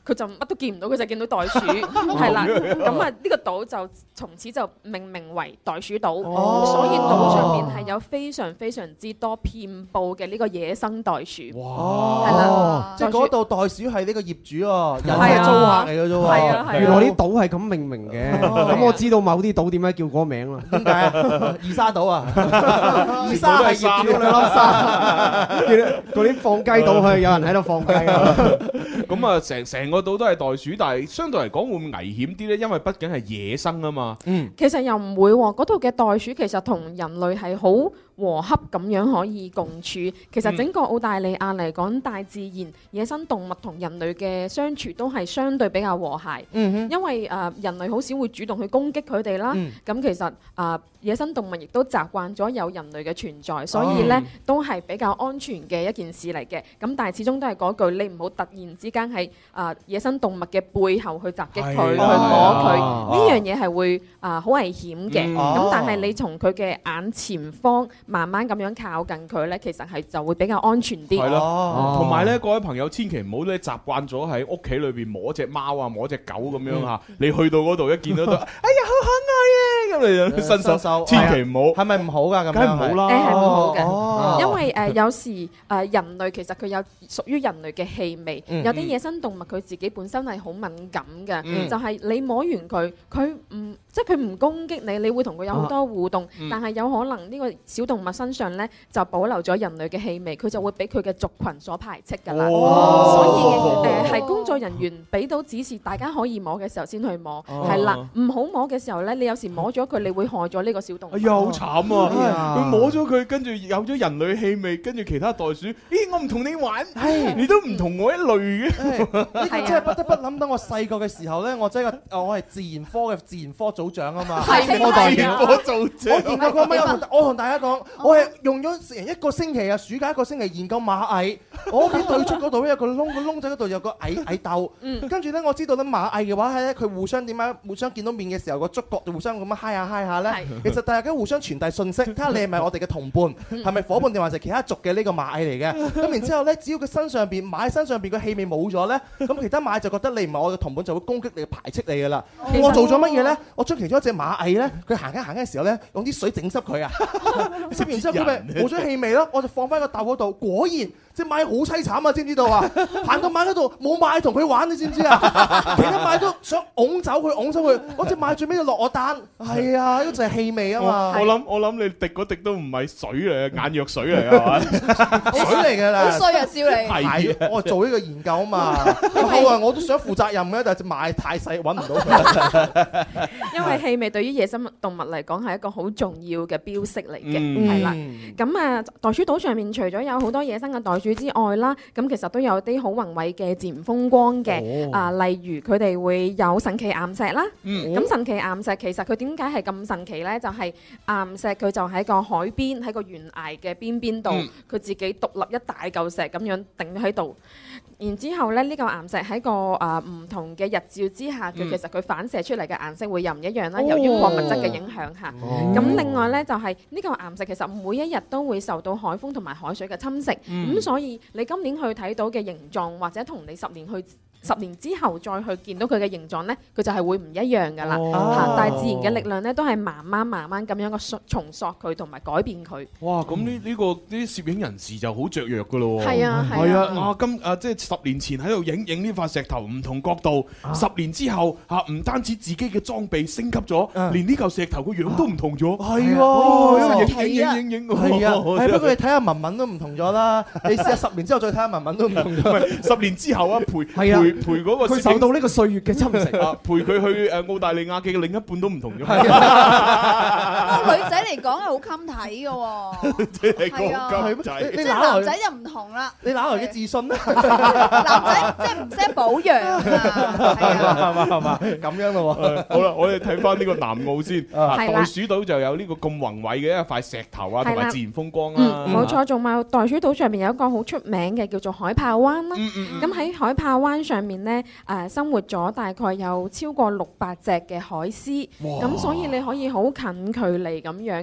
佢就乜都見唔到，佢就見到袋鼠，係啦。咁啊，呢個島就從此就命名為袋鼠島，所以島上面係有非常非常之多遍佈嘅呢個野生袋鼠。哇！係啦， 即係嗰度袋鼠係呢個業主喎，人係租客嚟嘅啫喎。 係啊係啊， 原來啲島係咁命名嘅，咁我知道某啲島點解叫嗰個名啦。 點解啊？二沙島啊，二沙係業主兩粒沙， 嗰啲放雞島係有人喺度放雞啊。 咁啊，成成個島都係袋鼠，但係相對嚟講會唔會危險啲咧？因為畢竟係野生啊嘛。 嗯，其實又唔會喎，嗰度嘅袋鼠其實同人類係好和洽咁樣可以共處。其實整個澳大利亞嚟講，大自然、野生動物同人類嘅相處都係相對比較和諧。嗯哼，因為誒、呃、人類好少會主動去攻擊佢哋啦。咁、嗯、其實誒、呃、野生動物亦都習慣咗有人類嘅存在，所以呢、哦、都係比較安全嘅一件事嚟嘅。咁但係始終都係嗰句，你唔好突然之間喺誒野生動物嘅背後去襲擊佢，去摸佢，呢樣嘢係會誒好、呃、危險嘅。咁、嗯、但係你從佢嘅眼前方慢慢咁樣靠近佢呢，其實係就會比較安全啲。係咯，同埋呢，各位朋友千祈唔好咧習慣咗喺屋企裏邊摸隻貓啊，摸隻狗咁樣嚇。嗯、你去到嗰度一見到都，哎呀好可愛啊！咁你伸手手，千祈唔好。係咪唔好㗎？咁梗係唔好啦。誒係唔好嘅， 哦、因為誒、呃、有時誒、呃、人類其實佢有屬於人類嘅氣味，嗯、有啲野生動物佢自己本身係好敏感嘅，嗯、就係你摸完佢，佢唔即係佢唔攻擊你，你會同佢有好多互動，嗯、但係有可能呢個小動物身上咧就保留咗人類嘅氣味，佢就會俾佢嘅族群所排斥㗎啦。哦、所以誒係、呃、工作人員俾到指示，大家可以摸嘅時候先去摸，係啦、哦，唔好摸嘅時候咧，你有時摸咗佢，你會害咗呢個小動物。哎呀，好慘啊！ 佢摸咗佢，跟住有咗人類氣味，跟住其他袋鼠，咦，我唔同你玩，你都唔同我一類嘅。 呢個真係不得不諗到我細個嘅時候咧，我真係個我係自然科嘅自然科組長啊嘛。 係我自然科組長。 我研究過咩？我同大家講，我係用咗成一個星期啊，暑假一個星期研究螞蟻。我屋企對出嗰度咧有個窿，個窿仔嗰度有個蟻蟻竇。跟住咧，我知道咧螞蟻嘅話係咧，佢互相點解互相見到面嘅時候個觸覺就互相咁樣嗨下嗨下咧。其實大家互相傳遞信息，睇下你係咪我哋嘅同伴，係咪夥伴定還是其他族嘅呢個螞蟻嚟嘅？咁然之後咧，只要佢身上邊螞蟻身上邊個氣味冇咗咧，咁其他螞蟻就覺得你唔係我嘅同伴，就會攻擊你、排斥你㗎啦。我做咗乜嘢咧？我將其中一隻螞蟻咧，佢行緊行緊嘅時候咧，用啲水整濕佢啊，濕完之後佢咪冇咗氣味咯，我就放翻個竇嗰度，果然。隻螞蟻好凄慘啊！知唔知道啊？行到螞蟻嗰度冇螞蟻同佢玩，你知唔知啊？其他螞蟻都想拱走佢，拱走佢。嗰隻螞蟻最尾就落我單。係啊，呢個就係氣味啊嘛。 我諗我諗你滴嗰滴都唔係水嚟，眼藥水嚟係嘛？ 水嚟㗎啦。 好衰啊！笑你。 係，我做呢個研究啊嘛。後來我都想負責任嘅，但係隻螞蟻太細，揾唔到佢。 因為氣味對於野生動物嚟講係一個好重要嘅標識嚟嘅，係啦。咁啊，袋鼠島上面除咗有好多野生嘅袋鼠之外啦，咁其實都有啲好宏偉嘅自然風光嘅，啊，例如佢哋會有神奇岩石啦。咁神奇岩石其實佢點解係咁神奇呢？就係岩石佢就喺個海邊，喺個懸崖嘅邊邊度，佢自己獨立一大嚿石咁樣頂喺度。然之後咧，呢個岩石喺個誒唔同嘅日照之下，佢其實佢反射出嚟嘅顏色會又唔一樣啦。由於礦物質嘅影響下，咁另外呢，就係呢個岩石其實每一日都會受到海風同埋海水嘅侵蝕，咁所以你今年去睇到嘅形狀，或者同你十年去十年之後再去見到佢嘅形狀呢，佢就係會唔一樣噶啦。嚇，大自然嘅力量呢，都係慢慢慢慢咁樣嘅重塑佢同埋改變佢。 哇！咁呢呢個啲攝影人士就好雀躍噶咯喎。 係啊係啊。啊今啊即係十年前喺度影影呢塊石頭唔同角度，十年之後嚇唔單止自己嘅裝備升級咗，連呢嚿石頭個樣都唔同咗。 係喎， 影影影影影。 係啊，係不過你睇下文文都唔同咗啦。你試下十年之後再睇下文文都唔同咗。 十年之後啊，陪陪。陪嗰個佢受到呢個歲月嘅侵蝕啊，陪佢去誒澳大利亞嘅另一半都唔同咗。 女仔嚟講係好襟睇嘅喎， 即係個仔， 即係男仔就唔同啦。 你哪來嘅自信咧？ 男仔即係唔識保養啊， 係嘛係嘛，咁樣咯喎。 好啦，我哋睇翻呢個南澳先。袋鼠島就有呢個咁宏偉嘅一塊石頭啊，同埋自然風光啦。 冇錯，仲有袋鼠島上面有一個好出名嘅叫做海豹灣啦。咁喺海豹灣上面咧，誒生活咗大概有超過六百隻嘅海獅，咁所以你可以好近距離咁樣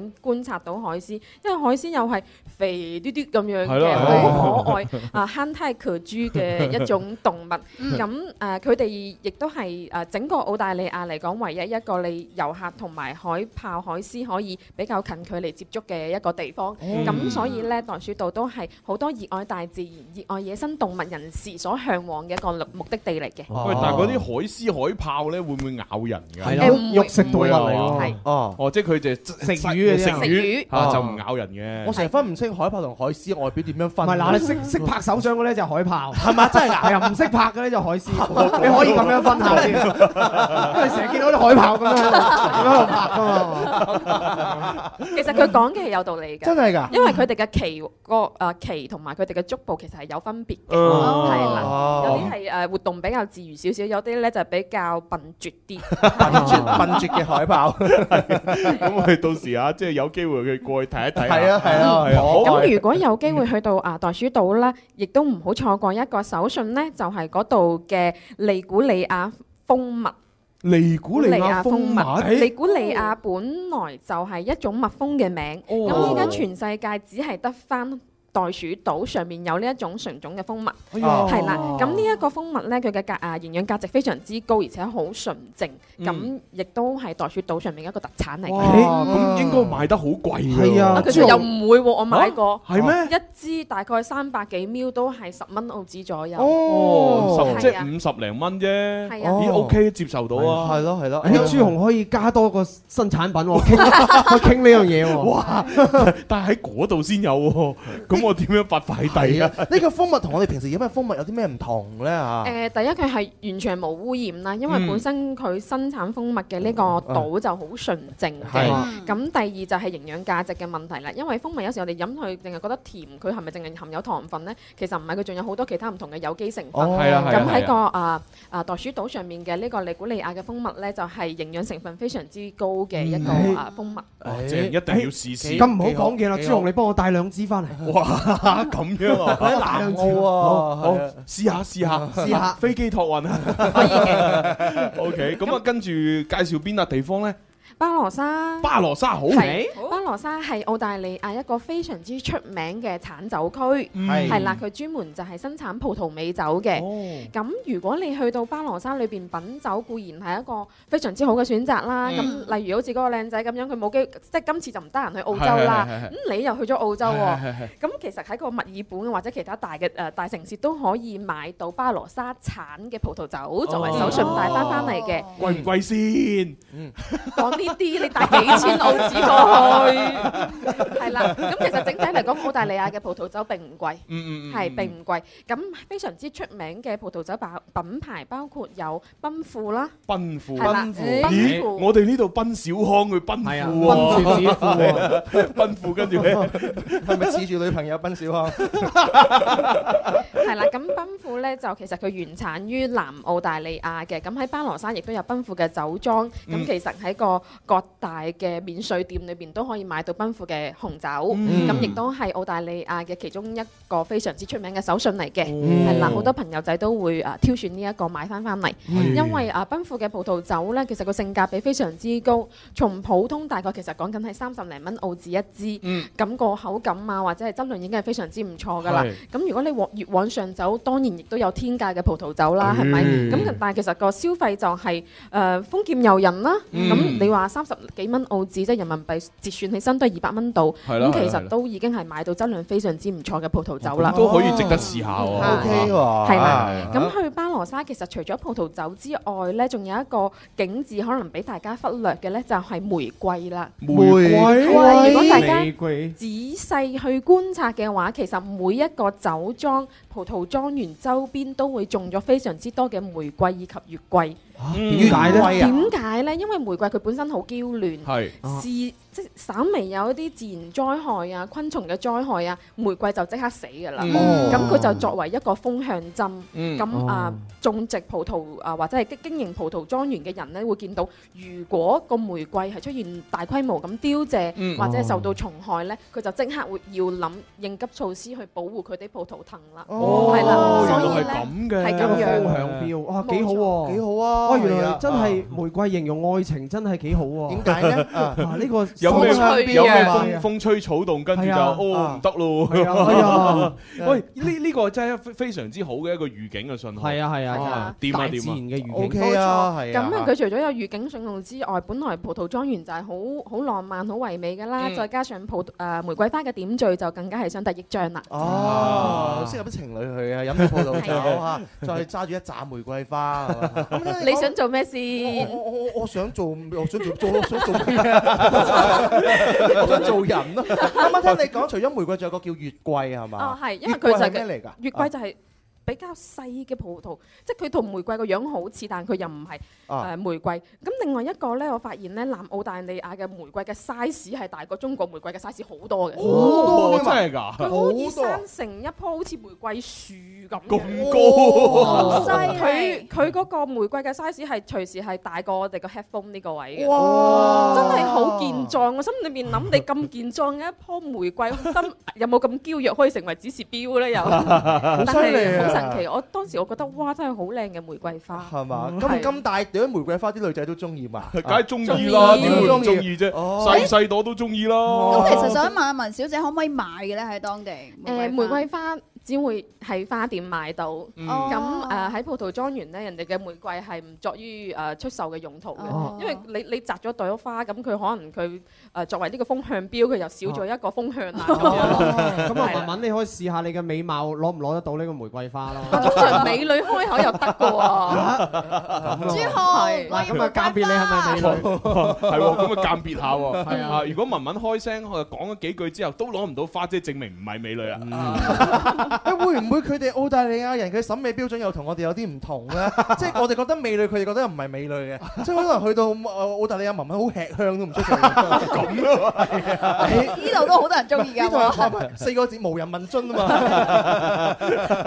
井觀察到海獅，因為海獅又係肥嘟嘟咁樣係咯嘅，好可愛啊，憨態可掬嘅一種動物。咁誒，佢哋亦都係誒整個澳大利亞嚟講，唯一一個你遊客同埋海豹、海獅可以比較近距離接觸嘅一個地方。咁所以咧，袋鼠島都係好多熱愛大自然、熱愛野生動物人士所向往嘅一個目的地嚟嘅。 喂，但係嗰啲海獅、海豹咧，會唔會咬人㗎？ 係咯，肉食動物嚟喎。 係哦， 哦，即係佢就食魚嘅啫， 食魚嚇就唔咬人嘅。 我成日分唔清海豹同海獅外表點樣分。 唔係嗱，你識識拍手掌嘅咧就海豹， 係咪真係㗎？ 係啊，唔識拍嘅咧就海獅。你可以咁樣分下先，因為成日見到啲海豹咁樣咁喺度拍㗎嘛。 其實佢講嘅係有道理㗎， 真係㗎， 因為佢哋嘅鰭個誒鰭同埋佢哋嘅足部其實係有分別嘅， 哦係啦，有啲係誒活動比較自如少少，有啲咧就比較笨拙啲， 笨拙笨拙嘅海豹。 咁我哋到時啊，即係有機會佢過去睇一睇。 係啊係啊係啊！ 咁如果有機會去到啊袋鼠島咧，亦都唔好錯過一個手信咧，就係嗰度嘅利古里亞蜂蜜。 利古里亞蜂蜜， 利古里亞本來就係一種蜜蜂嘅名，咁依家全世界只係得返袋鼠島上面有呢一種純種嘅蜂蜜，係啦。咁呢一個蜂蜜咧，佢嘅價啊營養價值非常之高，而且好純淨，咁亦都係袋鼠島上面一個特產嚟嘅。 咁應該賣得好貴㗎。 係啊， 其實又唔會喎，我買過。 係咩？ 一支大概三百幾 ml 都係十蚊澳紙左右。 哦，即係五十零蚊啫。 係啊。 咦 OK 接受到啊。 係咯係咯。 誒，朱紅可以加多個新產品喎，傾傾呢樣嘢喎。 哇！但係喺嗰度先有喎，咁我點樣發快遞啊？ 呢個蜂蜜同我哋平時飲嘅蜂蜜有啲咩唔同咧嚇？ 誒，第一佢係完全冇污染啦，因為本身佢生產蜂蜜嘅呢個島就好純淨嘅。咁第二就係營養價值嘅問題啦，因為蜂蜜有時我哋飲佢淨係覺得甜，佢係咪淨係含有糖分咧？其實唔係，佢仲有好多其他唔同嘅有機成分。 係啊係啊。 咁喺個啊啊袋鼠島上面嘅呢個利古里亞嘅蜂蜜咧，就係營養成分非常之高嘅一個啊蜂蜜。 即係一定要試試。 咁唔好講嘢啦，朱紅，你幫我帶兩支翻嚟。 哇！咁樣啊， 喺南澳啊， 好試下試下試下飛機託運啊， 可以嘅。 OK，咁啊跟住介紹邊笪地方咧？ 巴羅沙， 巴羅沙好， 係巴羅沙係澳大利亞一個非常之出名嘅產酒區，係啦，佢專門就係生產葡萄美酒嘅。咁如果你去到巴羅沙裏邊品酒，固然係一個非常之好嘅選擇啦。咁例如好似嗰個靚仔咁樣，佢冇機，即係今次就唔得閒去澳洲啦。咁你又去咗澳洲喎，咁其實喺個墨爾本或者其他大嘅誒大城市都可以買到巴羅沙產嘅葡萄酒作為手信帶翻翻嚟嘅。 貴唔貴先？ 講呢啲你帶幾千澳紙過去，係啦。咁其實整體嚟講，澳大利亞嘅葡萄酒並唔貴， 嗯嗯係並唔貴。咁非常之出名嘅葡萄酒品品牌包括有奔富啦， 奔富， 奔富， 咦？我哋呢度奔小康去奔富喎， 奔住指富喎， 奔富跟住咧， 係咪恃住女朋友奔小康？ 係啦，咁奔富咧就其實佢原產於南澳大利亞嘅，咁喺巴羅沙亦都有奔富嘅酒莊。咁其實喺個各大嘅免稅店裏邊都可以買到奔富嘅紅酒，咁亦都係澳大利亞嘅其中一個非常之出名嘅手信嚟嘅，係啦，好多朋友仔都會啊挑選呢一個買翻翻嚟，因為啊奔富嘅葡萄酒咧，其實個性價比非常之高，從普通大概其實講緊係三十零蚊澳紙一支，咁個口感啊或者係質量已經係非常之唔錯噶啦。咁如果你往越往上走，當然亦都有天價嘅葡萄酒啦，係咪？咁但係其實個消費就係誒豐儉由人啦，咁你話三十幾蚊澳紙即係人民幣折算起身都係二百蚊度，咁其實都已經係買到質量非常之唔錯嘅葡萄酒啦， 都可以值得試下喎。 O K 喎， 係啦。咁去巴羅沙其實除咗葡萄酒之外咧，仲有一個景致可能俾大家忽略嘅咧，就係玫瑰啦。 玫瑰， 如果大家仔細去觀察嘅話，其實每一個酒莊、葡萄莊園周邊都會種咗非常之多嘅玫瑰以及月桂。 點解咧？ 點解咧？因為玫瑰佢本身好嬌嫩， 係是即係稍微有一啲自然災害啊、昆蟲嘅災害啊，玫瑰就即刻死㗎啦。咁佢就作為一個風向針。咁啊，種植葡萄啊或者係經營葡萄莊園嘅人咧，會見到如果個玫瑰係出現大規模咁凋謝，或者係受到蟲害咧，佢就即刻會要諗應急措施去保護佢啲葡萄藤啦。係啦，所以咧係咁樣。 風向標，哇，幾好喎， 幾好啊！ 哇，原來真係玫瑰形容愛情真係幾好喎。 點解咧？ 啊，呢個有咩有咩啊風風吹草動，跟住就係啊哦唔得咯。 係啊， 喂，呢呢個真係非非常之好嘅一個預警嘅信號。 係啊係啊哦係啊掂啊大自然掂嘅預警 OK 啊，係咁啊。 樣佢除咗有預警信號之外，本來葡萄莊園就係好好浪漫、好唯美㗎啦， 嗯再加上葡誒玫瑰花嘅點綴，就更加係相得益彰啦。 哦，適合啲情侶去啊，飲啲葡萄酒啊，再揸住一紮玫瑰花。 你想做咩先？ 我我我我想做，我想做做我想做咩啊？我想做人咯。啱啱聽你講，除咗玫瑰，仲有個叫月桂係嘛？ 哦，係，因為佢就係咩嚟㗎？ 月桂就係比較細嘅葡萄，即係佢同玫瑰個樣好似，但佢又唔係誒玫瑰。咁另外一個咧，我發現咧，南澳大利亞嘅玫瑰嘅 size 係大過中國玫瑰嘅 size 好多嘅。 哦，真係㗎！ 佢可以生成一棵好似玫瑰樹咁嘅。 咁高， 佢佢嗰個玫瑰嘅 size 係隨時係大過我哋個 headphone 呢個位嘅。 哇！ 真係好健壯，我心裏面諗你咁健壯嘅一棵玫瑰，真有冇咁嬌弱可以成為指示標咧？又，但係好神奇。我當時我覺得哇，真係好靚嘅玫瑰花。 係嘛？咁咁大朵玫瑰花，啲女仔都中意嘛？ 梗係中意啦，點會唔中意啫？細細朵都中意啦。 咁其實想問下文小姐，可唔可以買嘅咧？喺當地誒玫瑰花只會喺花店買到，咁誒喺葡萄莊園咧，人哋嘅玫瑰係唔作於誒出售嘅用途嘅，因為你你摘咗朵花，咁佢可能佢誒作為呢個風向標，佢又少咗一個風向啦。 咁啊，文文你可以試下你嘅美貌攞唔攞得到呢個玫瑰花咯？ 通常美女開口又得嘅喎。 朱浩， 嗱咁啊，鑑別你係咪美女？ 係喎，咁啊鑑別下喎。 係啊， 如果文文開聲講咗幾句之後都攞唔到花，即係證明唔係美女啦。 誒會唔會佢哋澳大利亞人嘅審美標準又同我哋有啲唔同咧？即係我哋覺得美女，佢哋覺得唔係美女嘅，即係可能去到澳大利亞文文好吃香都唔出奇。咁咯，係啊！ 呢度都好多人中意㗎。 呢度四個字無人問津啊嘛。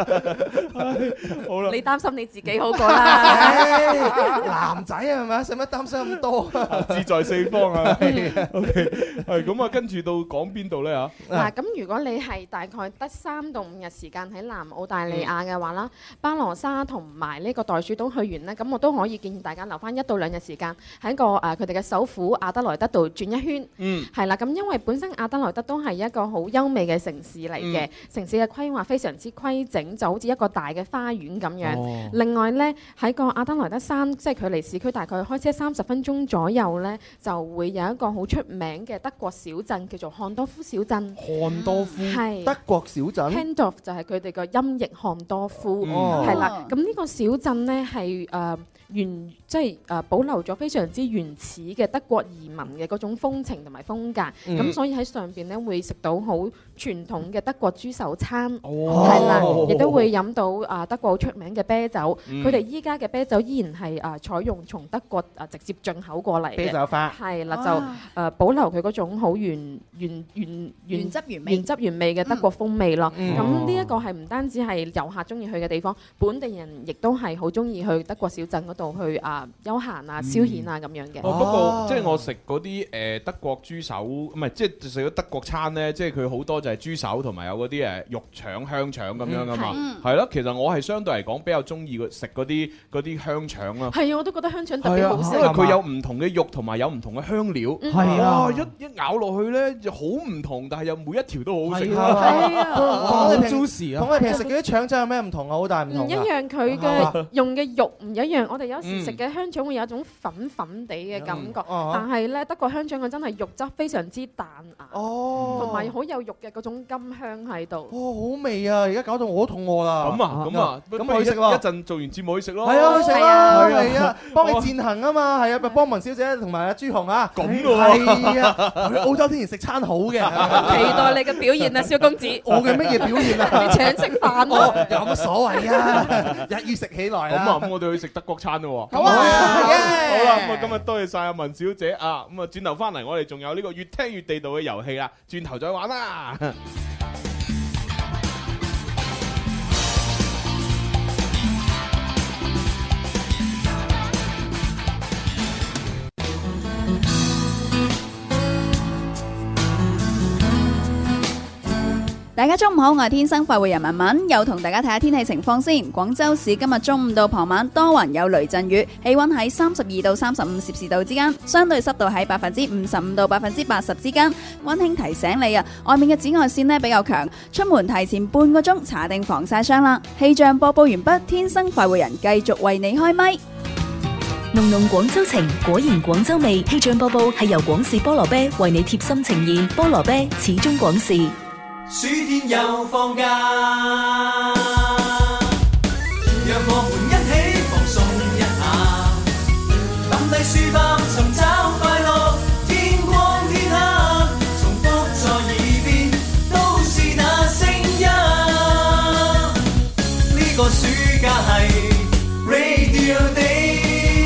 好啦， 你擔心你自己好過啦。 男仔係咪？使乜擔心咁多？ 志在四方啊。OK，係咁啊，跟住到講邊度咧嚇？ 嗱，咁如果你係大概得三到五日時間喺南澳大利亞嘅話啦，巴羅沙同埋呢個袋鼠島去完呢，咁我都可以建議大家留翻一到兩日時間喺個誒佢哋嘅首府阿德萊德度轉一圈。 嗯， 係啦，咁因為本身阿德萊德都係一個好優美嘅城市嚟嘅，嗯、城市嘅規劃非常之規整，就好似一個大嘅花園咁樣。哦、另外呢，喺個阿德萊德山，即係距離市區大概開車三十分鐘左右呢，就會有一個好出名嘅德國小鎮，叫做漢多夫小鎮。 漢多夫係是德國小鎮。 Handorf 就係佢哋個音譯漢多夫，係啦、嗯。咁呢個小鎮呢，係誒。呃原即係誒保留咗非常之原始嘅德國移民嘅嗰種風情同埋風格，咁、嗯、所以喺上邊咧會食到好傳統嘅德國豬手餐，係啦、哦，亦都會飲到啊德國好出名嘅啤酒。佢哋依家嘅啤酒依然係誒採用從德國誒直接進口過嚟嘅啤酒花， 係啦，就誒保留佢嗰種好原原原原汁原味原汁原味嘅德國風味咯。 嗯、 咁呢一個係唔單止係遊客中意去嘅地方，本地人亦都係好中意去德國小鎮嗰度去啊休閒啊消遣啊咁樣嘅。 哦，不過即係我食嗰啲誒德國豬手，唔係即係食咗德國餐咧，即係佢好多就係豬手同埋有嗰啲誒肉腸、香腸咁樣噶嘛。係咯，其實我係相對嚟講比較中意食嗰啲嗰啲香腸啦。 係啊，我都覺得香腸特別好食， 因為佢有唔同嘅肉同埋有唔同嘅香料。係啊，一一咬落去咧就好唔同，但係又每一條都好好食。 係啊， 好 juicy 啊！同我哋平時食嗰啲腸仔有咩唔同啊？好大唔同。 唔一樣，佢嘅用嘅肉唔一樣。我哋有時食嘅香腸會有一種粉粉地嘅感覺，但係咧德國香腸佢真係肉質非常之彈牙，同埋好有肉嘅嗰種甘香喺度。 哦，好味啊！而家搞到我都肚餓啦。 咁啊，咁啊， 咁去食咯。 一陣做完節目去食咯。 係啊，去食啦，係啊，幫你餞行啊嘛，係啊，幫文小姐同埋阿朱紅啊。 咁嘅喎。 係啊，去澳洲天然食餐好嘅。 期待你嘅表現啊，蕭公子。 我嘅乜嘢表現啊？ 你請食飯咯。 有乜所謂啊？一於食起來啦。 咁啊，咁我哋去食德國餐咯。 好啊，好啦，咁啊，今日多謝晒阿文小姐啊，咁啊，轉頭翻嚟，我哋仲有呢個越聽越地道嘅遊戲啦，轉頭再玩啦。 大家中午好，我係天生快活人文文，又同大家睇下天氣情況先。廣州市今日中午到傍晚多雲有雷陣雨，氣溫喺三十二到三十五攝氏度之間，相對濕度喺百分之五十五到百分之八十之間。溫馨提醒你啊，外面嘅紫外線呢比較強，出門提前半個鐘搽定防曬霜啦。氣象播報完畢，天生快活人繼續為你開咪。 濃濃廣州情，果然廣州味。氣象播報係由廣氏菠蘿啤為你貼心呈現，菠蘿啤始終廣氏。 暑天又放假，讓我們一起放鬆一下，抌低書包尋找快樂，天光天黑，重複在耳邊，都是那聲音。呢個暑假係 Radio Day。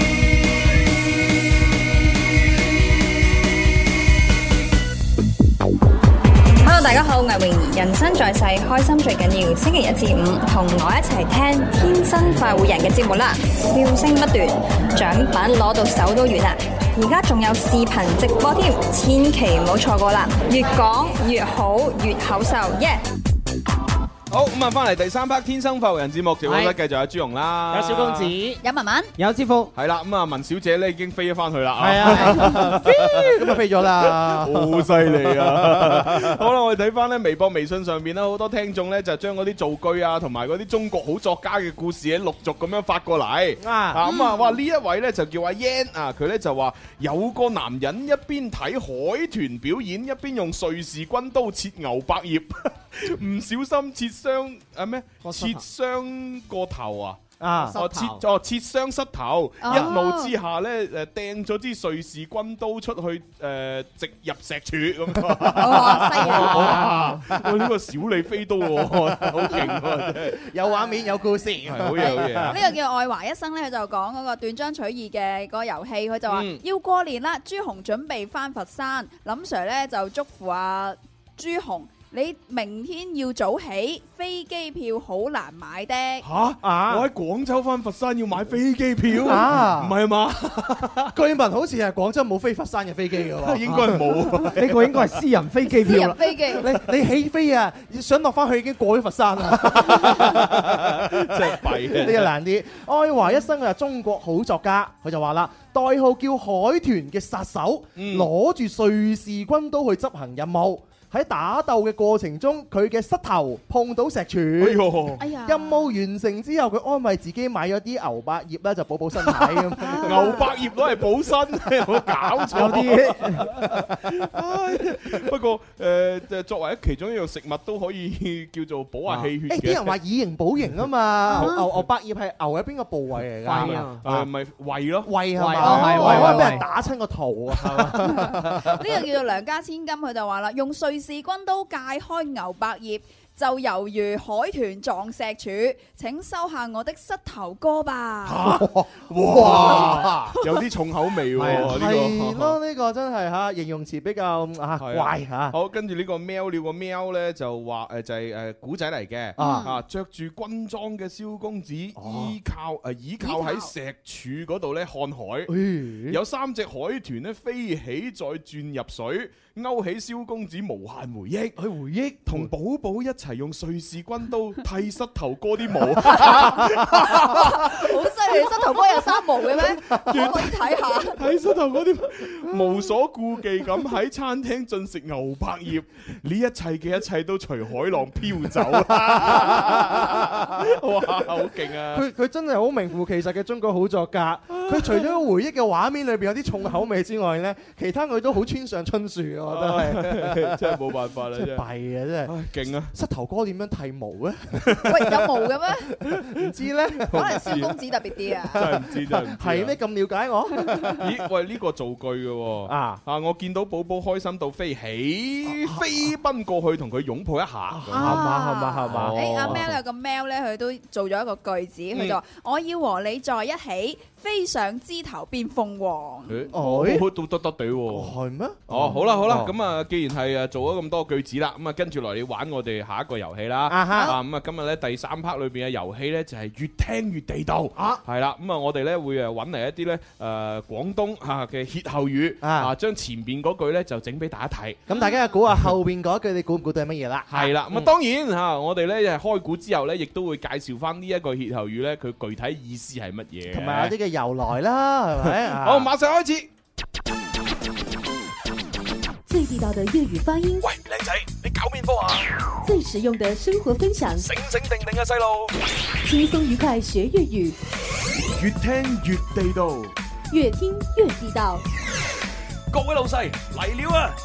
大家好，我係泳兒。人生在世，開心最緊要。星期一至五，同我一齊聽天生快活人嘅節目啦，笑聲不斷，獎品攞到手都軟啦。而家仲有視頻直播添，千祈唔好錯過啦！越講越好，越口秀，耶、yeah!！ 好咁啊！翻嚟第三 part《天生快活人》節目，直播室繼續有朱紅啦， 有小公子， 有文文， 有支付， 係啦。咁啊，文小姐咧已經飛咗翻去啦， 係啊，咁啊飛咗啦， 好犀利啊！好啦，我哋睇翻咧微博、微信上邊咧，好多聽眾咧就將嗰啲造句啊，同埋嗰啲中國好作家嘅故事咧，陸續咁樣發過嚟啊！咁啊，哇！呢一位咧就叫阿 Yan 啊，佢咧就話有個男人一邊睇海豚表演，一邊用瑞士軍刀切牛百葉，唔小心切傷啊咩？切傷個頭啊！啊！哦切哦切傷膝頭，一怒之下咧誒掟咗支瑞士軍刀出去誒直入石柱咁。 哇！犀利！ 哇！我呢個小李飛刀喎，好勁喎！真係有畫面有故事， 係好嘢好嘢。 呢個叫愛華一生咧，佢就講嗰個斷章取義嘅嗰個遊戲，佢就話要過年啦，朱紅準備翻佛山，林 Sir 咧就祝福阿朱紅。你明天要早起，飛機票好難買的。 嚇！啊！我喺廣州翻佛山要買飛機票啊？唔係嘛？ 據聞好似係廣州冇飛佛山嘅飛機嘅喎。 應該冇， 呢個應該係私人飛機票啦。 私人飛機。 你你起飛啊？想落翻去已經過咗佛山啦。 真係弊啊！ 呢個難啲。愛華一生佢係中國好作家，佢就話啦，代號叫海豚嘅殺手，攞住瑞士軍刀去執行任務。喺打鬥嘅過程中，佢嘅膝頭碰到石柱。哎呦！哎呀！任務完成之後，佢安慰自己買咗啲牛百葉咧，就補補身體咁。 牛百葉攞嚟補身，有冇搞錯？有啲。不過誒，作為一其中一樣食物，都可以叫做補下氣血嘅。 啲人話以形補形啊嘛。牛牛百葉係牛喺邊個部位嚟㗎？ 胃啊！誒，咪胃咯。 胃係嘛？係胃，可能俾人打親個頭啊！ 呢個叫做梁家千金，佢就話啦，用瑞士軍刀界開牛百葉，就猶如海豚撞石柱，請收下我的膝頭哥吧。 哇！有啲重口味喎，呢個係咯，呢個真係嚇形容詞比較啊怪嚇。 好，跟住呢個喵了個喵咧就話誒就係誒古仔嚟嘅啊，著住軍裝嘅蕭公子依靠誒依靠喺石柱嗰度咧看海，有三隻海豚咧飛起再轉入水。勾起蕭公子無限回憶， 去回憶同寶寶一齊用瑞士軍刀剃膝頭哥啲毛， 好犀利！膝頭哥有三毛嘅咩？可以睇下。 剃膝頭哥啲毛，無所顧忌咁喺餐廳進食牛百葉，呢一切嘅一切都隨海浪飄走。哇，好勁啊！ 佢佢真係好名副其實嘅中國好作家。佢除咗回憶嘅畫面裏邊有啲重口味之外咧，其他佢都好村上春樹。我覺得係真係冇辦法啦，真係弊啊！真係勁啊！ 膝頭哥點樣剃毛咧？ 喂，有毛嘅咩？ 唔知咧， 可能蕭公子特別啲啊！ 真係唔知，真係唔知。 係咩咁了解我？ 咦？喂，呢個造句嘅喎啊啊！我見到寶寶開心到飛起，飛奔過去同佢擁抱一下，係嘛係嘛係嘛？ 誒，阿喵有個喵咧，佢都做咗一個句子，佢就話：我要和你在一起，飛上上枝頭變鳳凰。 哦，都得得地喎。 係咩？ 哦，好啦好啦，咁啊，既然係誒做咗咁多句子啦，咁啊跟住落嚟玩我哋下一個遊戲啦。 啊哈。 啊咁啊，今日咧第三 part 裏邊嘅遊戲咧就係越聽越地道。啊。係啦，咁啊我哋咧會誒揾嚟一啲咧誒廣東嚇嘅歇後語啊，將前邊嗰句咧就整俾大家睇。 咁大家又估下後邊嗰句，你估唔估到係乜嘢啦？ 係啦，咁啊當然嚇，我哋咧開估之後咧，亦都會介紹翻呢一個歇後語咧，佢具體意思係乜嘢， 同埋有啲嘅由來啦，係咪？ 好，馬上開始。 最地道的粵語發音。 喂，靚仔，你搞面科啊？ 最實用的生活分享。 醒醒定定啊，細路！ 輕鬆愉快學粵語， 越聽越地道， 越聽越地道。 各位老細嚟了啊！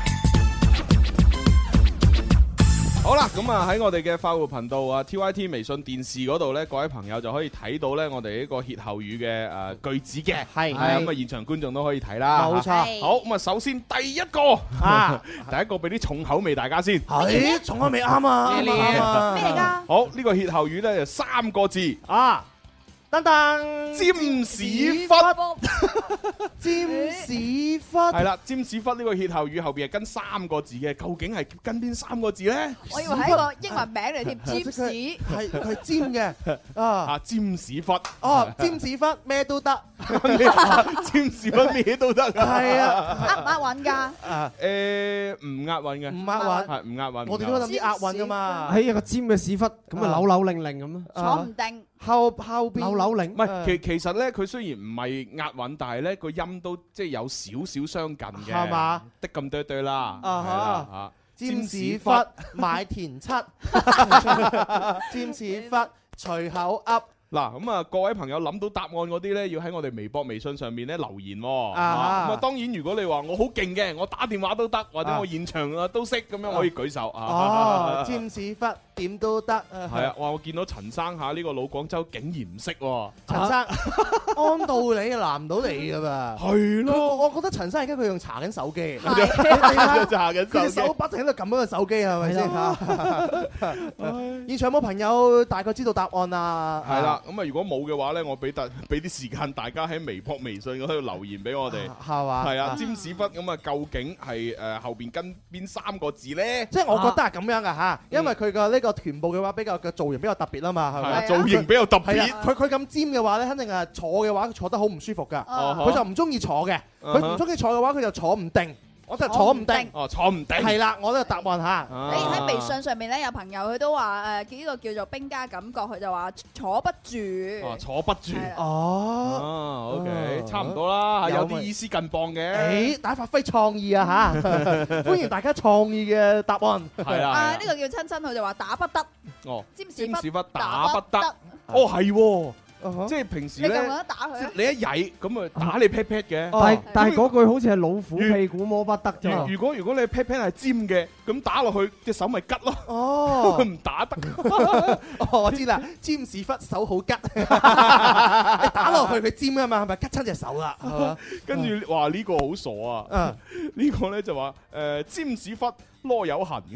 好啦，咁啊喺我哋嘅快活頻道啊 T Y T 微信電視嗰度咧，各位朋友就可以睇到咧我哋呢個歇後語嘅誒句子嘅，係咁啊現場觀眾都可以睇啦，冇錯。好，咁啊首先第一個啊，第一個俾啲重口味大家先， 係重口味啱啊，咩嚟㗎？ 好，呢個歇後語咧就三個字啊。噔噔， 尖屎忽， 尖屎忽， 係啦，尖屎忽呢個歇後語後邊係跟三個字嘅，究竟係跟邊三個字咧？ 我以為係一個英文名嚟添，尖屎， 係佢係尖嘅啊啊，尖屎忽， 哦，尖屎忽咩都得， 尖屎忽咩都得， 係啊， 押唔押韻㗎？ 啊誒，唔押韻嘅， 唔押韻， 係唔押韻。 我哋都諗啲押韻㗎嘛， 喺一個尖嘅屎忽，咁啊扭扭擰擰咁咯， 坐唔定。 後後邊扭扭擰， 唔係其其實咧，佢雖然唔係押韻，但係咧個音都即係有少少相近嘅， 係嘛？ 的咁多對啦，係啦嚇。 尖屎忽買田七，尖屎忽隨口噏。 嗱咁啊，各位朋友諗到答案嗰啲咧，要喺我哋微博、微信上面咧留言喎。咁啊，當然如果你話我好勁嘅，我打電話都得，或者我現場啊都識，咁樣可以舉手啊。 哦，尖屎忽點都得。 係啊，哇！我見到陳生嚇呢個老廣州竟然唔識喎。 陳生按道理難唔到你㗎嘛。係咯，我覺得陳生而家佢用查緊手機，查緊手機，手不停喺度撳嗰個手機係咪先嚇？現場有冇朋友大概知道答案啊？ 係啦。咁啊，如果冇嘅話咧，我俾特俾啲時間大家喺微博、微信嗰度留言俾我哋， 係嘛？ 係啊，尖屎忽咁啊，究竟係誒後邊跟邊三個字咧？ 即係我覺得係咁樣噶嚇，因為佢個呢個臀部嘅話比較嘅造型比較特別啊嘛，係咪？ 造型比較特別。 佢佢咁尖嘅話咧，肯定係坐嘅話坐得好唔舒服噶，佢就唔中意坐嘅，佢唔中意坐嘅話佢就坐唔定。我就坐唔定， 哦，坐唔定， 係啦，我呢個答案嚇。 誒喺微信上面咧，有朋友佢都話誒呢個叫做兵家感覺，佢就話坐不住。 哦，坐不住。 哦 ，OK，差唔多啦，有啲意思近磅嘅。 誒，大家發揮創意啊嚇！歡迎大家創意嘅答案。 係啦。 啊，呢個叫親親，佢就話打不得。 哦， 尖屎忽打不得。哦，係喎。即係平時咧，你一曳咁啊打你 pat pat 嘅， 但係但係嗰句好似係老虎屁股摸不得啫。 如果如果你 pat pat 係尖嘅，咁打落去隻手咪吉咯。 哦， 唔打得。 我知啦，尖屎忽手好吉，你打落去佢尖啊嘛，係咪吉親隻手啦？ 跟住話呢個好傻啊！呢個咧就話誒尖屎忽囉柚痕。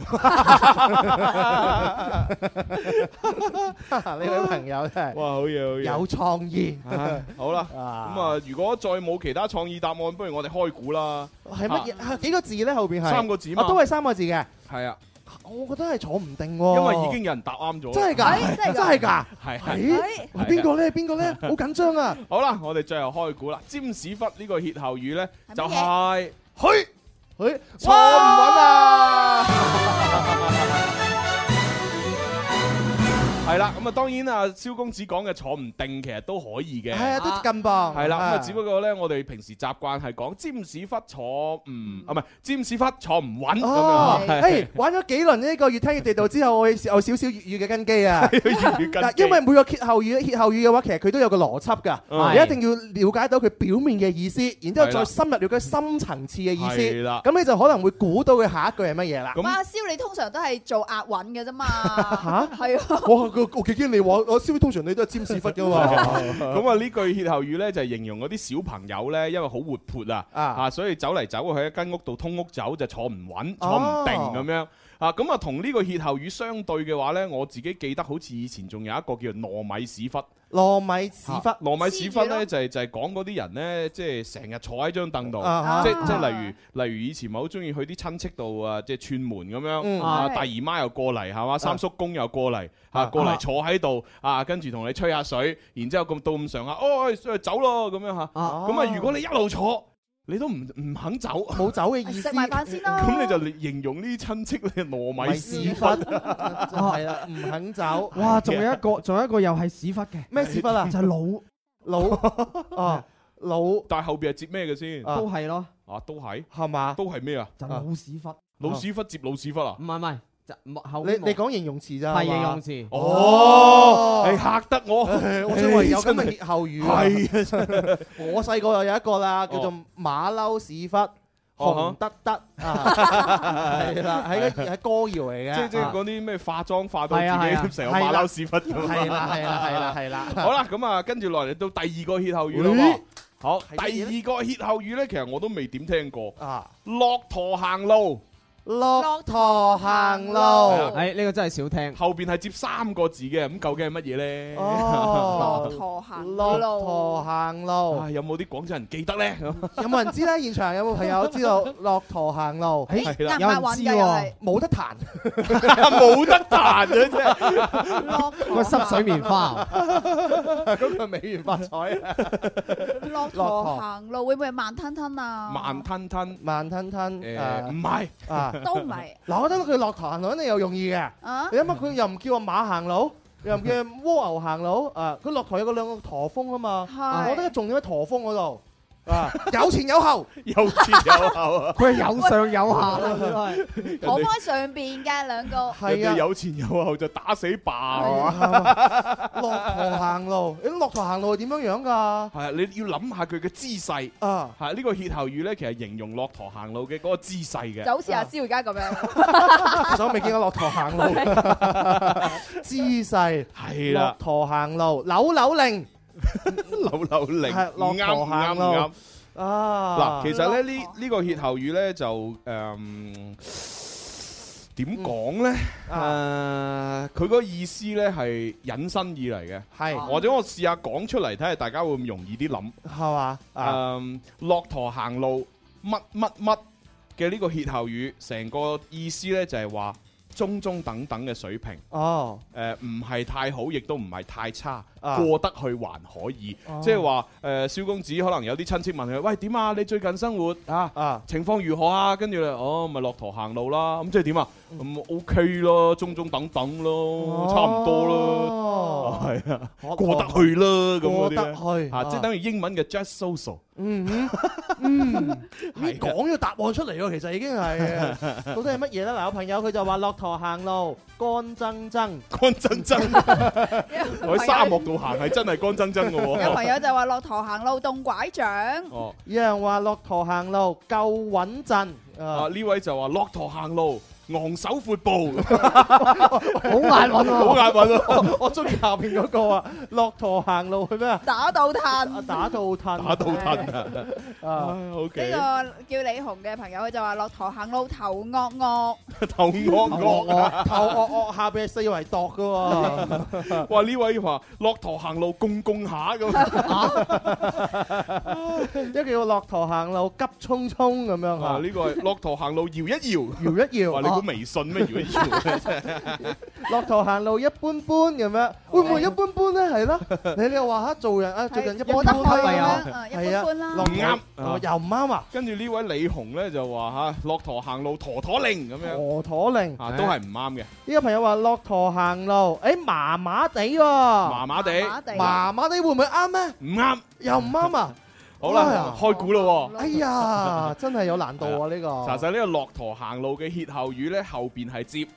呢位朋友真係哇，好嘢好嘢， 有創意。 好啦，咁啊，如果再冇其他創意答案，不如我哋開估啦。 係乜嘢？幾個字咧？後邊係三個字嘛， 都係三個字嘅。 係啊， 我覺得係坐唔定喎。 因為已經有人答啱咗。 真係㗎，真係㗎。 係係。邊個咧？邊個咧？好緊張啊！ 好啦，我哋最後開估啦。尖屎忽呢個歇後語咧，就係去去坐唔穩啊！係啦，咁啊當然啊，蕭公子講嘅坐唔定其實都可以嘅， 係啊，都近磅。 係啦，咁啊只不過咧，我哋平時習慣係講尖屎忽坐唔啊，唔係尖屎忽坐唔穩咁樣。 誒，玩咗幾輪呢個越聽越地道之後，我有少少粵語嘅根基啊。粵語根基。因為每個歇後語，歇後語嘅話，其實佢都有個邏輯㗎，你一定要了解到佢表面嘅意思，然之後再深入了解深層次嘅意思。係啦。咁你就可能會估到佢下一句係乜嘢啦。 咁阿蕭，你通常都係做押韻嘅啫嘛。嚇？係啊。 我我幾驚你話我蕭，通常你都係尖屎忽㗎嘛。 咁啊呢句歇後語咧就係形容嗰啲小朋友咧，因為好活潑啊，啊所以走嚟走去喺間屋度通屋走就坐唔穩，坐唔定咁樣。啊咁啊同呢個歇後語相對嘅話咧，我自己記得好似以前仲有一個叫做糯米屎忽。 糯米屎忽， 糯米屎忽咧就係就係講嗰啲人咧，即係成日坐喺張凳度， 啊即即係例如例如以前咪好中意去啲親戚度啊，即係串門咁樣，啊大姨媽又過嚟係嘛，三叔公又過嚟嚇過嚟坐喺度啊，跟住同你吹下水，然之後咁到咁上下，哦走咯咁樣嚇，咁啊如果你一路坐，你都唔唔肯走， 冇走嘅意思。 食埋飯先咯。 咁你就形容呢啲親戚咧糯米屎忽， 係啦，唔肯走。 哇，仲有一個，仲有一個又係屎忽嘅。 咩屎忽啊？ 就係老老啊老。 但係後邊係接咩嘅先？ 都係咯。 啊，都係。 係嘛？ 都係咩啊？ 就老屎忽。 老屎忽接老屎忽啊？ 唔係唔係。 你你講形容詞咋？ 係形容詞。 哦，你嚇得我， 我以為有咁嘅歇後語。 係啊， 我細個又有一個啦，叫做馬騮屎忽，紅得得啊，係啦，係個係歌謠嚟嘅。 即即係嗰啲咩化妝化到自己成個馬騮屎忽咁。 係啦係啦係啦係啦。 好啦，咁啊，跟住落嚟到第二個歇後語啦。好，第二個歇後語咧，其實我都未點聽過。啊，駱駝行路。 駱駝行路， 誒呢個真係少聽。 後邊係接三個字嘅，咁究竟係乜嘢咧？ 哦， 駱駝行駱駝行路， 有冇啲廣州人記得咧？ 有冇人知咧？現場有冇朋友知道駱駝行路？ 係啦， 有人知喎，冇得彈， 冇得彈啊！真係個濕水棉花， 嗰個美元發財啊！ 駱駝行路會唔會係慢吞吞啊？ 慢吞吞， 慢吞吞， 誒唔係啊。 都唔係， 嗱，我覺得佢駱駝行路肯定有用意嘅。 啊， 你諗下佢又唔叫個馬行路，又唔叫蝸牛行路，啊，佢駱駝有個兩個駝峰啊嘛。我覺得重點喺駝峰嗰度。啊！有前有後， 有前有後啊！ 佢係有上有下啊！佢係坐開上邊嘅兩個， 係啊！有前有後就打死霸係嘛？ 駱駝行路，你駱駝行路係點樣樣㗎？ 係啊！你要諗下佢嘅姿勢啊！ 係呢個歇後語咧，其實形容駱駝行路嘅嗰個姿勢嘅， 就好似阿蕭而家咁樣。 其實我未見過駱駝行路，姿勢係啦。 駱駝行路，扭扭令。 扭扭令， 係駱駝行路啊！嗱，其實咧呢呢個歇後語咧就誒點講咧？誒，佢個意思咧係引申意嚟嘅， 係或者我試下講出嚟睇下大家會唔會容易啲諗， 係嘛？ 誒，駱駝行路乜乜乜嘅呢個歇後語，成個意思咧就係話中中等等嘅水平。 哦， 誒唔係太好，亦都唔係太差。 啊過得去還可以， 哦即係話誒，蕭公子可能有啲親戚問佢：喂，點啊？你最近生活啊啊情況如何啊？跟住咧，哦，咪駱駝行路啦。咁即係點啊？咁 OK 咯，中中等等咯，差唔多咯，係啊，過得去啦，咁嗰啲咧，啊，即係等於英文嘅 just so-so。 嗯嗯，你講咗答案出嚟喎，其實已經係到底係乜嘢咧？嗱，有朋友佢就話駱駝行路乾爭爭， 乾爭爭，我喺沙漠度行係真係乾爭爭嘅喎。 有朋友就話駱駝行路動拐杖， 哦， 有人話駱駝行路夠穩陣， 啊呢位就話駱駝行路昂首闊步， 好眼暈喎， 好眼暈喎。 我我中意下邊嗰個啊，駱駝行路去咩啊？ 打倒褪， 打倒褪， 打倒褪啊！OK， 呢個叫李紅嘅朋友佢就話駱駝行路頭惡惡， 頭惡惡， 頭惡惡下邊係四圍度嘅喎。 哇！呢位話駱駝行路共共下咁， 一個叫駱駝行路急匆匆咁樣啊！呢個係駱駝行路搖一搖， 搖一搖。 哇！你估微信咩？搖一搖， 駱駝行路一般般咁樣，會唔會一般般咧？係咯，你你又話嚇做人啊，最近一般般係啊，係啊， 唔啱， 又唔啱啊！ 跟住呢位李紅咧就話嚇駱駝行路陀陀令咁樣， 陀陀令啊都係唔啱嘅。 呢個朋友話駱駝行路，誒麻麻地喎， 麻麻地， 麻麻地會唔會啱咩？ 唔啱， 又唔啱啊！ 好啦，開估咯喎！ 哎呀，真係有難度啊！呢個查實呢個駱駝行路嘅歇後語咧，後邊係接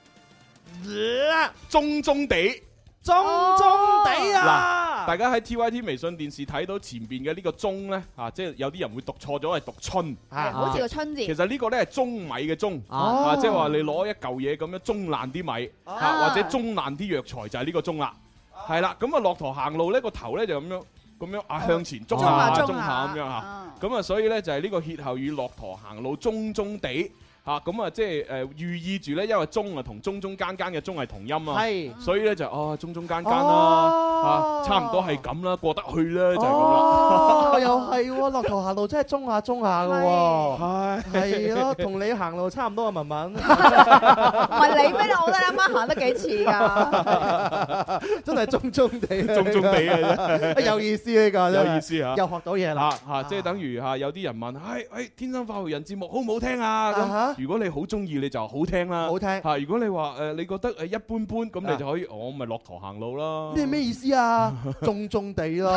中中地， 中中地啊！ 嗱，大家喺 T Y T 微信電視睇到前邊嘅呢個中咧，啊，即係有啲人會讀錯咗，係讀春， 係好似個春字。 其實呢個咧係舂米嘅舂，啊，即係話你攞一嚿嘢咁樣舂爛啲米，啊，或者舂爛啲藥材就係呢個舂啦，係啦。咁啊，駱駝行路咧個頭咧就咁樣。咁樣啊，向前中下中下咁樣嚇，咁啊，所以咧就係呢個歇後語駱駝行路中中地嚇咁啊，即係誒寓意住咧，因為中啊同中中間間嘅中係同音啊， 係， 所以咧就哦中中間間啦，嚇差唔多係咁啦，過得去啦，就係咁啦。 哦，又係喎，駱駝行路真係中下中下嘅喎，係係咯，同你行路差唔多啊，文文。 唔係你咩？我覺得你啱啱行得幾似㗎， 真係中中地， 中中地嘅啫， 有意思呢個， 有意思嚇， 又學到嘢啦嚇，即係等於嚇有啲人問，係誒天生快活人節目好唔好聽啊？咁如果你好中意，你就好聽啦， 好聽嚇。如果你話誒你覺得誒一般般，咁你就可以我咪駱駝行路啦。 咩咩意思啊？中中地咯。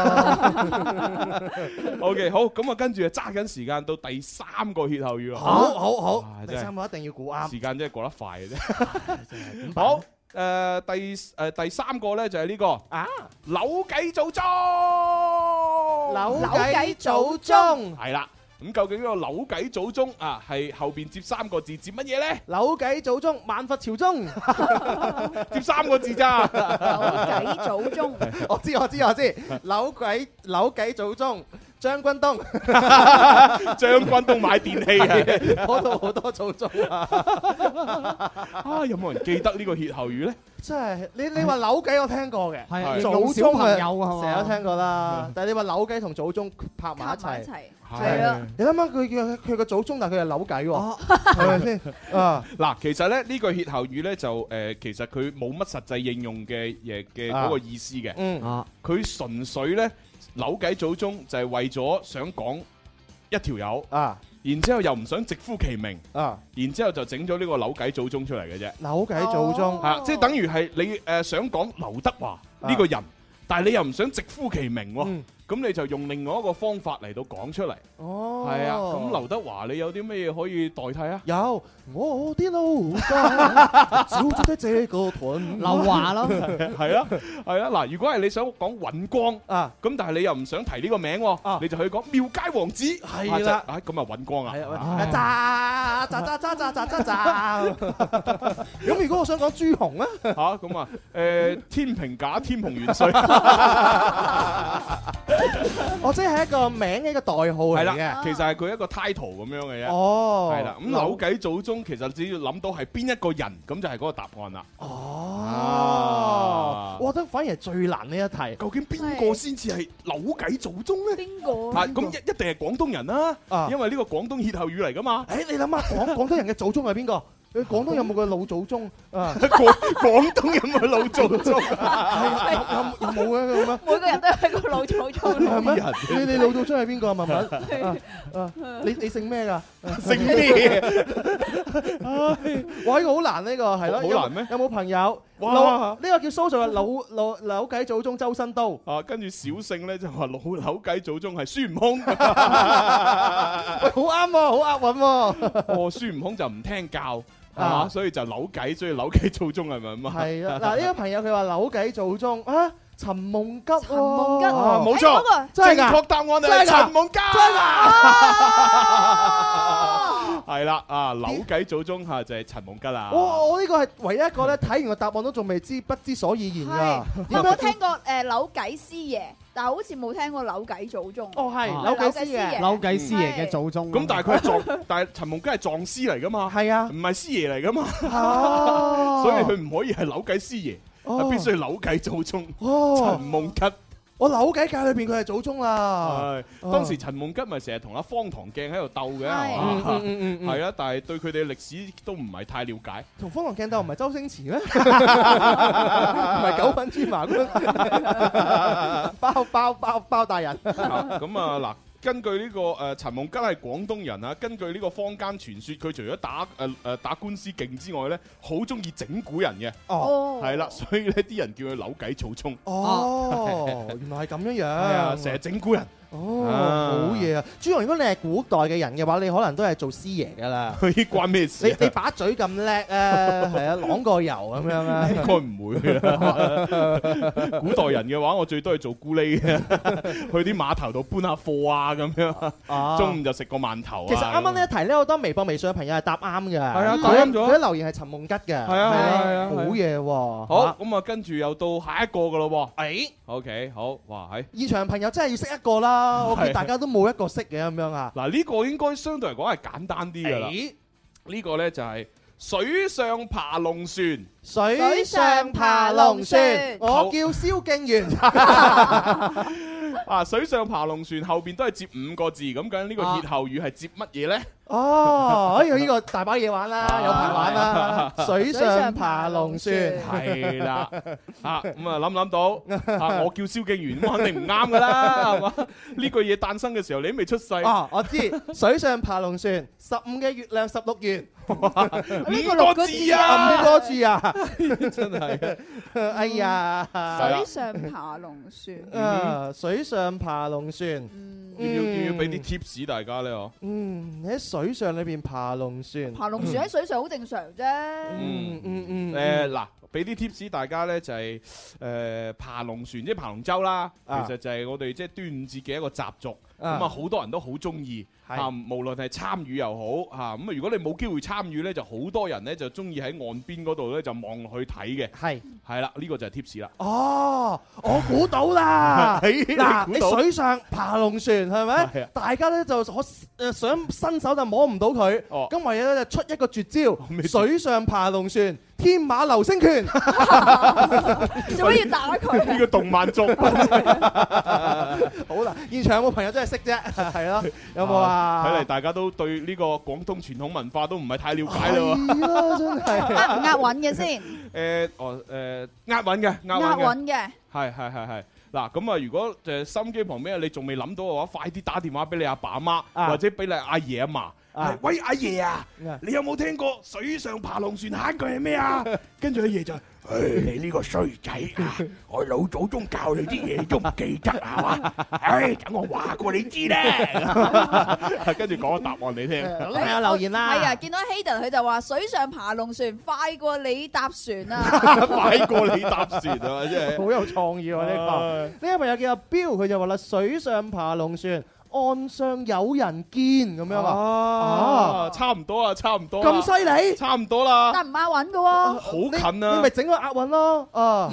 OK， 好，咁啊跟住啊揸緊時間到第三個歇後語啊！ 好好好，第三個一定要估啱， 時間真係過得快嘅啫。好，誒第誒第三個咧就係呢個啊扭計祖宗， 扭計祖宗係啦。咁究竟呢個扭計祖宗啊係後邊接三個字接乜嘢咧？ 扭計祖宗萬佛朝宗， 接三個字咋？ 扭計祖宗， 我知我知我知，扭計扭計祖宗。將軍東， 將軍東買電器啊！ 嗰度好多祖宗啊！ 啊，有冇人記得呢個歇後語咧？ 真係你你話扭計我聽過嘅， 係祖小朋友啊， 成日都聽過啦。但係你話扭計同祖宗拍埋一齊， 係啊！ 你諗下佢嘅佢個祖宗，但係佢係扭計喎，係咪先？啊嗱，其實咧呢個歇後語咧就誒，其實佢冇乜實際應用嘅嘢嘅嗰個意思嘅。 嗯啊，佢純粹咧。扭計祖宗就係為咗想講一條友啊， 然之後又唔想直呼其名啊， 然之後就整咗呢個扭計祖宗出嚟嘅啫。 扭計祖宗係啊，即係等於係你誒想講劉德華呢個人，但係你又唔想直呼其名喎。咁你就用另外一個方法嚟到講出嚟。 哦， 係啊。咁劉德華你有啲咩嘢可以代替啊？ 有我啲老家照住這個屯， 劉華咯。 係啊，係啊。嗱，如果係你想講尹光啊， 咁但係你又唔想提呢個名喎，你就可以講廟街王子。 係啦， 啊咁啊尹光啊。 炸炸炸炸炸炸炸炸。咁如果我想講朱紅啊？ 嚇咁啊誒天平假天蓬元帥。 我即係一個名嘅一個代號嚟嘅， 係啦，其實係佢一個 title 咁樣嘅啫。 哦， 係啦，咁扭計祖宗其實只要諗到係邊一個人，咁就係嗰個答案啦。 哦，我覺得反而係最難呢一題， 究竟邊個先至係扭計祖宗咧？ 邊個？ 啊，咁一一定係廣東人啦，因為呢個廣東歇後語嚟噶嘛。 誒，你諗下廣廣東人嘅祖宗係邊個？你廣東有冇個老祖宗啊？ 廣廣東有冇老祖宗啊？有有冇嘅咁啊？ 每個人都係個老祖宗。 係咩？你你老祖宗係邊個啊？文文啊，你你姓咩㗎？ 姓咩？ 哇！呢個好難呢個係咯， 好難咩？ 有冇朋友？ 哇！ 呢個叫蘇做嘅扭扭扭計祖宗周身刀啊，跟住小姓咧就話扭扭計祖宗係孫悟空。 喂，好啱喎，好押韻喎。 哦，孫悟空就唔聽教。啊，所以就扭計，所以扭計祖宗係咪咁啊？係啊，嗱呢個朋友佢話扭計祖宗啊，陳夢吉， 陳夢吉， 冇錯， 真係㗎， 正確答案係陳夢吉， 真㗎， 係啦，啊扭計祖宗嚇就係陳夢吉啦。 我我呢個係唯一一個咧，睇完個答案都仲未知不知所以然㗎。 有冇聽過誒扭計師爺？但係好似冇聽過扭計祖宗。 哦，係扭計師爺， 扭計師爺嘅祖宗。 咁但係佢係撞，但係陳夢吉係撞師嚟㗎嘛？ 係啊， 唔係師爺嚟㗎嘛？ 哦， 所以佢唔可以係扭計師爺，係必須係扭計祖宗。 哦， 陳夢吉。 我扭計界裏邊佢係祖宗啦。 係當時陳夢吉咪成日同阿方唐鏡喺度鬥嘅，係嘛？係啊，但係對佢哋嘅歷史都唔係太了解。 同方唐鏡鬥唔係周星馳咩？唔係九品芝麻官，包包包包大人。 咁啊嗱。根據呢個誒陳夢吉係廣東人啊，根據呢個坊間傳說，佢除咗打誒誒打官司勁之外咧，好中意整蠱人嘅。 哦， 係啦，所以咧啲人叫佢扭計祖宗。 哦，原來係咁樣樣。係啊，成日整蠱人。 哦，好嘢啊！朱紅，如果你係古代嘅人嘅話，你可能都係做師爺噶啦。 佢關咩事？ 你你把嘴咁叻啊，係啊，啷個油咁樣啊？ 應該唔會啦。古代人嘅話，我最多係做咕喱嘅，去啲碼頭度搬下貨啊咁樣。中午就食個饅頭。 其實啱啱呢一題咧，好多微博、微信嘅朋友係答啱嘅。係啊，答啱咗。 佢啲留言係陳夢吉嘅。係啊係啊，好嘢喎！ 好，咁啊，跟住又到下一個噶咯喎。 誒 ，OK，好，哇，喺現場朋友真係要識一個啦。我見大家都冇一個識嘅咁樣啊！ 嗱，呢個應該相對嚟講係簡單啲㗎啦。 呢個咧就係水上爬龍船。 水上爬龍船，我叫蕭敬元。 啊！水上爬龍船後邊都係接五個字，咁究竟呢個歇後語係接乜嘢咧？ 哦，哎呀，呢個大把嘢玩啦，有排玩啦！水上爬龍船係啦，啊咁啊諗唔諗到？啊，我叫蕭敬元，咁肯定唔啱噶啦，係嘛？呢句嘢誕生嘅時候，你都未出世。 哦，我知，水上爬龍船，十五嘅月亮十六圓。 五個字啊， 五個字啊， 真係。 哎呀， 水上爬龍船。 啊，水上爬龍船。 要唔要要唔要俾啲 tips 大家咧？哦。 嗯，你喺水上裏邊爬龍船。 爬龍船喺水上好正常啫。 嗯嗯嗯。 誒嗱，俾啲 tips 大家咧，就係誒爬龍船，即係爬龍舟啦。其實就係我哋即係端午節嘅一個習俗。咁啊，好多人都好中意。啊，無論係參與又好嚇，咁啊，如果你冇機會參與咧，就好多人咧就中意喺岸邊嗰度咧就望落去睇嘅。係係啦，呢個就係 tips 啦。 哦，我估到啦！嗱，你水上爬龍船係咪？大家咧就可誒想伸手就摸唔到佢。哦，咁唯有咧就出一個絕招，水上爬龍船。天馬流星拳， 做咩要打佢？ 呢個動漫作品。 好啦，現場有冇朋友真係識啫？係咯，有冇啊？ 睇嚟大家都對呢個廣東傳統文化都唔係太了解啦喎。 係啊，真係。 押唔押韻嘅先？ 誒，哦，誒，押韻嘅， 押韻嘅。 係係係係。嗱咁啊，如果誒心機旁邊你仲未諗到嘅話，快啲打電話俾你阿爸阿媽，或者俾你阿爺阿嫲。係，喂阿爺啊，你有冇聽過水上爬龍船下一句係咩啊？跟住阿爺就，誒你呢個衰仔啊，我老祖宗教你啲嘢都唔記得係嘛？誒等我話過你知咧，跟住講個答案你聽。 係啊，留言啦。 係啊，見到 Hayden 佢就話水上爬龍船快過你搭船啊！ 快過你搭船啊！真係好有創意喎呢個。呢個朋友叫阿彪，佢就話啦：水上爬龍船。岸上有人見咁樣啊！ 啊，差唔多啊，差唔多。 咁犀利？ 差唔多啦。 但唔押韻嘅喎。 好近啊！ 你咪整個押韻咯。啊。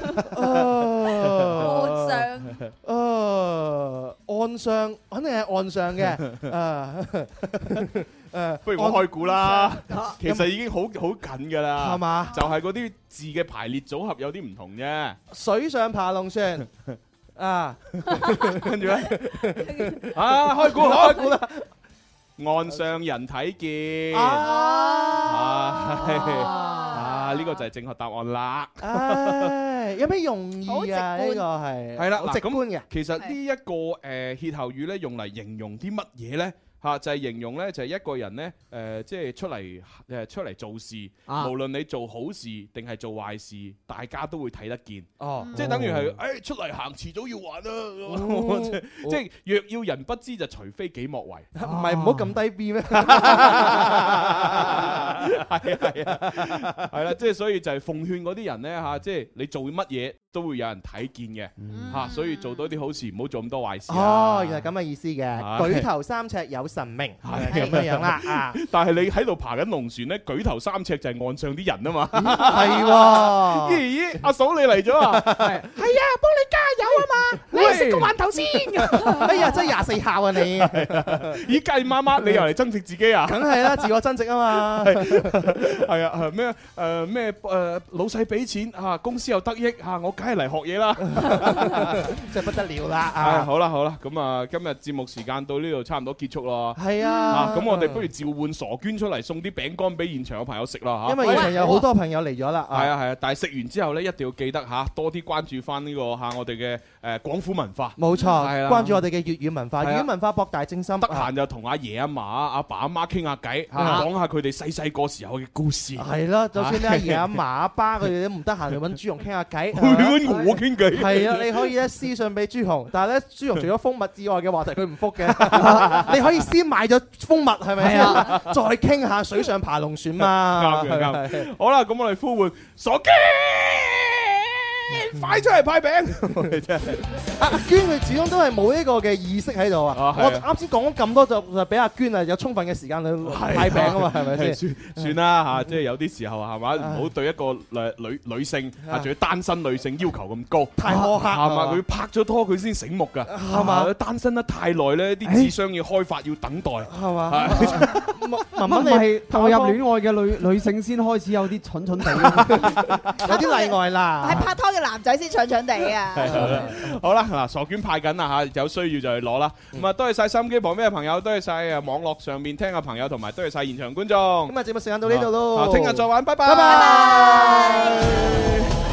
岸上。 啊，岸上肯定係岸上嘅。啊。誒， 不如我開估啦。其實已經好好近㗎啦。係嘛？ 就係嗰啲字嘅排列組合有啲唔同啫。 水上爬龍船。啊， 跟住咧，啊開估開估啦，岸上人睇見，啊啊呢個就係正確答案啦。 唉，有咩用意啊？呢個係係啦， 直觀嘅。 其實呢一個誒歇後語咧，用嚟形容啲乜嘢咧？嚇就係形容咧，就係一個人咧，誒即係出嚟誒出嚟做事，無論你做好事定係做壞事，大家都會睇得見。哦，即係等於係誒出嚟行，遲早要還啊！即係若要人不知，就除非己莫為。 唔係唔好咁低 B 咩？係啊係啊，係啦，即係所以就係奉勸嗰啲人咧嚇，即係你做乜嘢都會有人睇見嘅嚇，所以做多啲好事，唔好做咁多壞事。 哦，原來咁嘅意思嘅，舉頭三尺有神明，係咁樣樣啦啊！ 但係你喺度爬緊龍船咧，舉頭三尺就係岸上啲人啊嘛。 係喎， 咦咦，阿嫂你嚟咗啊？ 係係啊，幫你加油啊嘛！你食個饅頭先。哎呀，真係廿四孝啊你！ 咦，計媽媽，你又嚟增值自己啊？ 梗係啦，自我增值啊嘛。 係啊，係咩誒咩誒老細俾錢嚇，公司又得益嚇，我梗係嚟學嘢啦。 真係不得了啦！ 啊，好啦好啦，咁啊今日節目時間到呢度差唔多結束咯。 係啊， 咁我哋不如召喚傻娟出嚟送啲餅乾俾現場嘅朋友食啦嚇。 因為現場有好多朋友嚟咗啦。 係啊係啊，但係食完之後咧，一定要記得嚇多啲關注翻呢個嚇我哋嘅誒廣府文化。 冇錯，係啦，關注我哋嘅粵語文化，粵語文化博大精深。 得閒就同阿爺阿嫲、阿爸阿媽傾下偈嚇，講下佢哋細細個時候嘅故事。 係啦，就算你阿爺阿嫲阿爸佢哋都唔得閒，就揾朱紅傾下偈。 揾我傾偈。 係啊，你可以咧私信俾朱紅，但係咧朱紅除咗蜂蜜之外嘅話題佢唔覆嘅。你可以先買咗蜂蜜係咪啊？再傾下水上爬龍船嘛。 啱嘅啱。好啦，咁我哋呼喚傻娟。 快出嚟派餅！真係阿娟佢始終都係冇呢個嘅意識喺度啊！我啱先講咗咁多就就俾阿娟啊有充分嘅時間去派餅啊嘛，係咪先？ 算算啦嚇，即係有啲時候係嘛，唔好對一個誒女女性啊，仲要單身女性要求咁高， 太苛刻係嘛？佢拍咗拖佢先醒目㗎，係嘛？單身得太耐咧，啲智商要開發要等待，係嘛？ 文文係投入戀愛嘅女女性先開始有啲蠢蠢地， 有啲例外啦。 係拍拖嘅男仔先蠢蠢地啊！ 好啦，嗱，傻娟派緊啦嚇，有需要就去攞啦。咁啊，多謝晒收音機旁邊嘅朋友，多謝晒啊網絡上面聽嘅朋友，同埋多謝晒現場觀眾。 咁啊，節目時間到呢度咯， 聽日再玩，拜拜。 拜拜。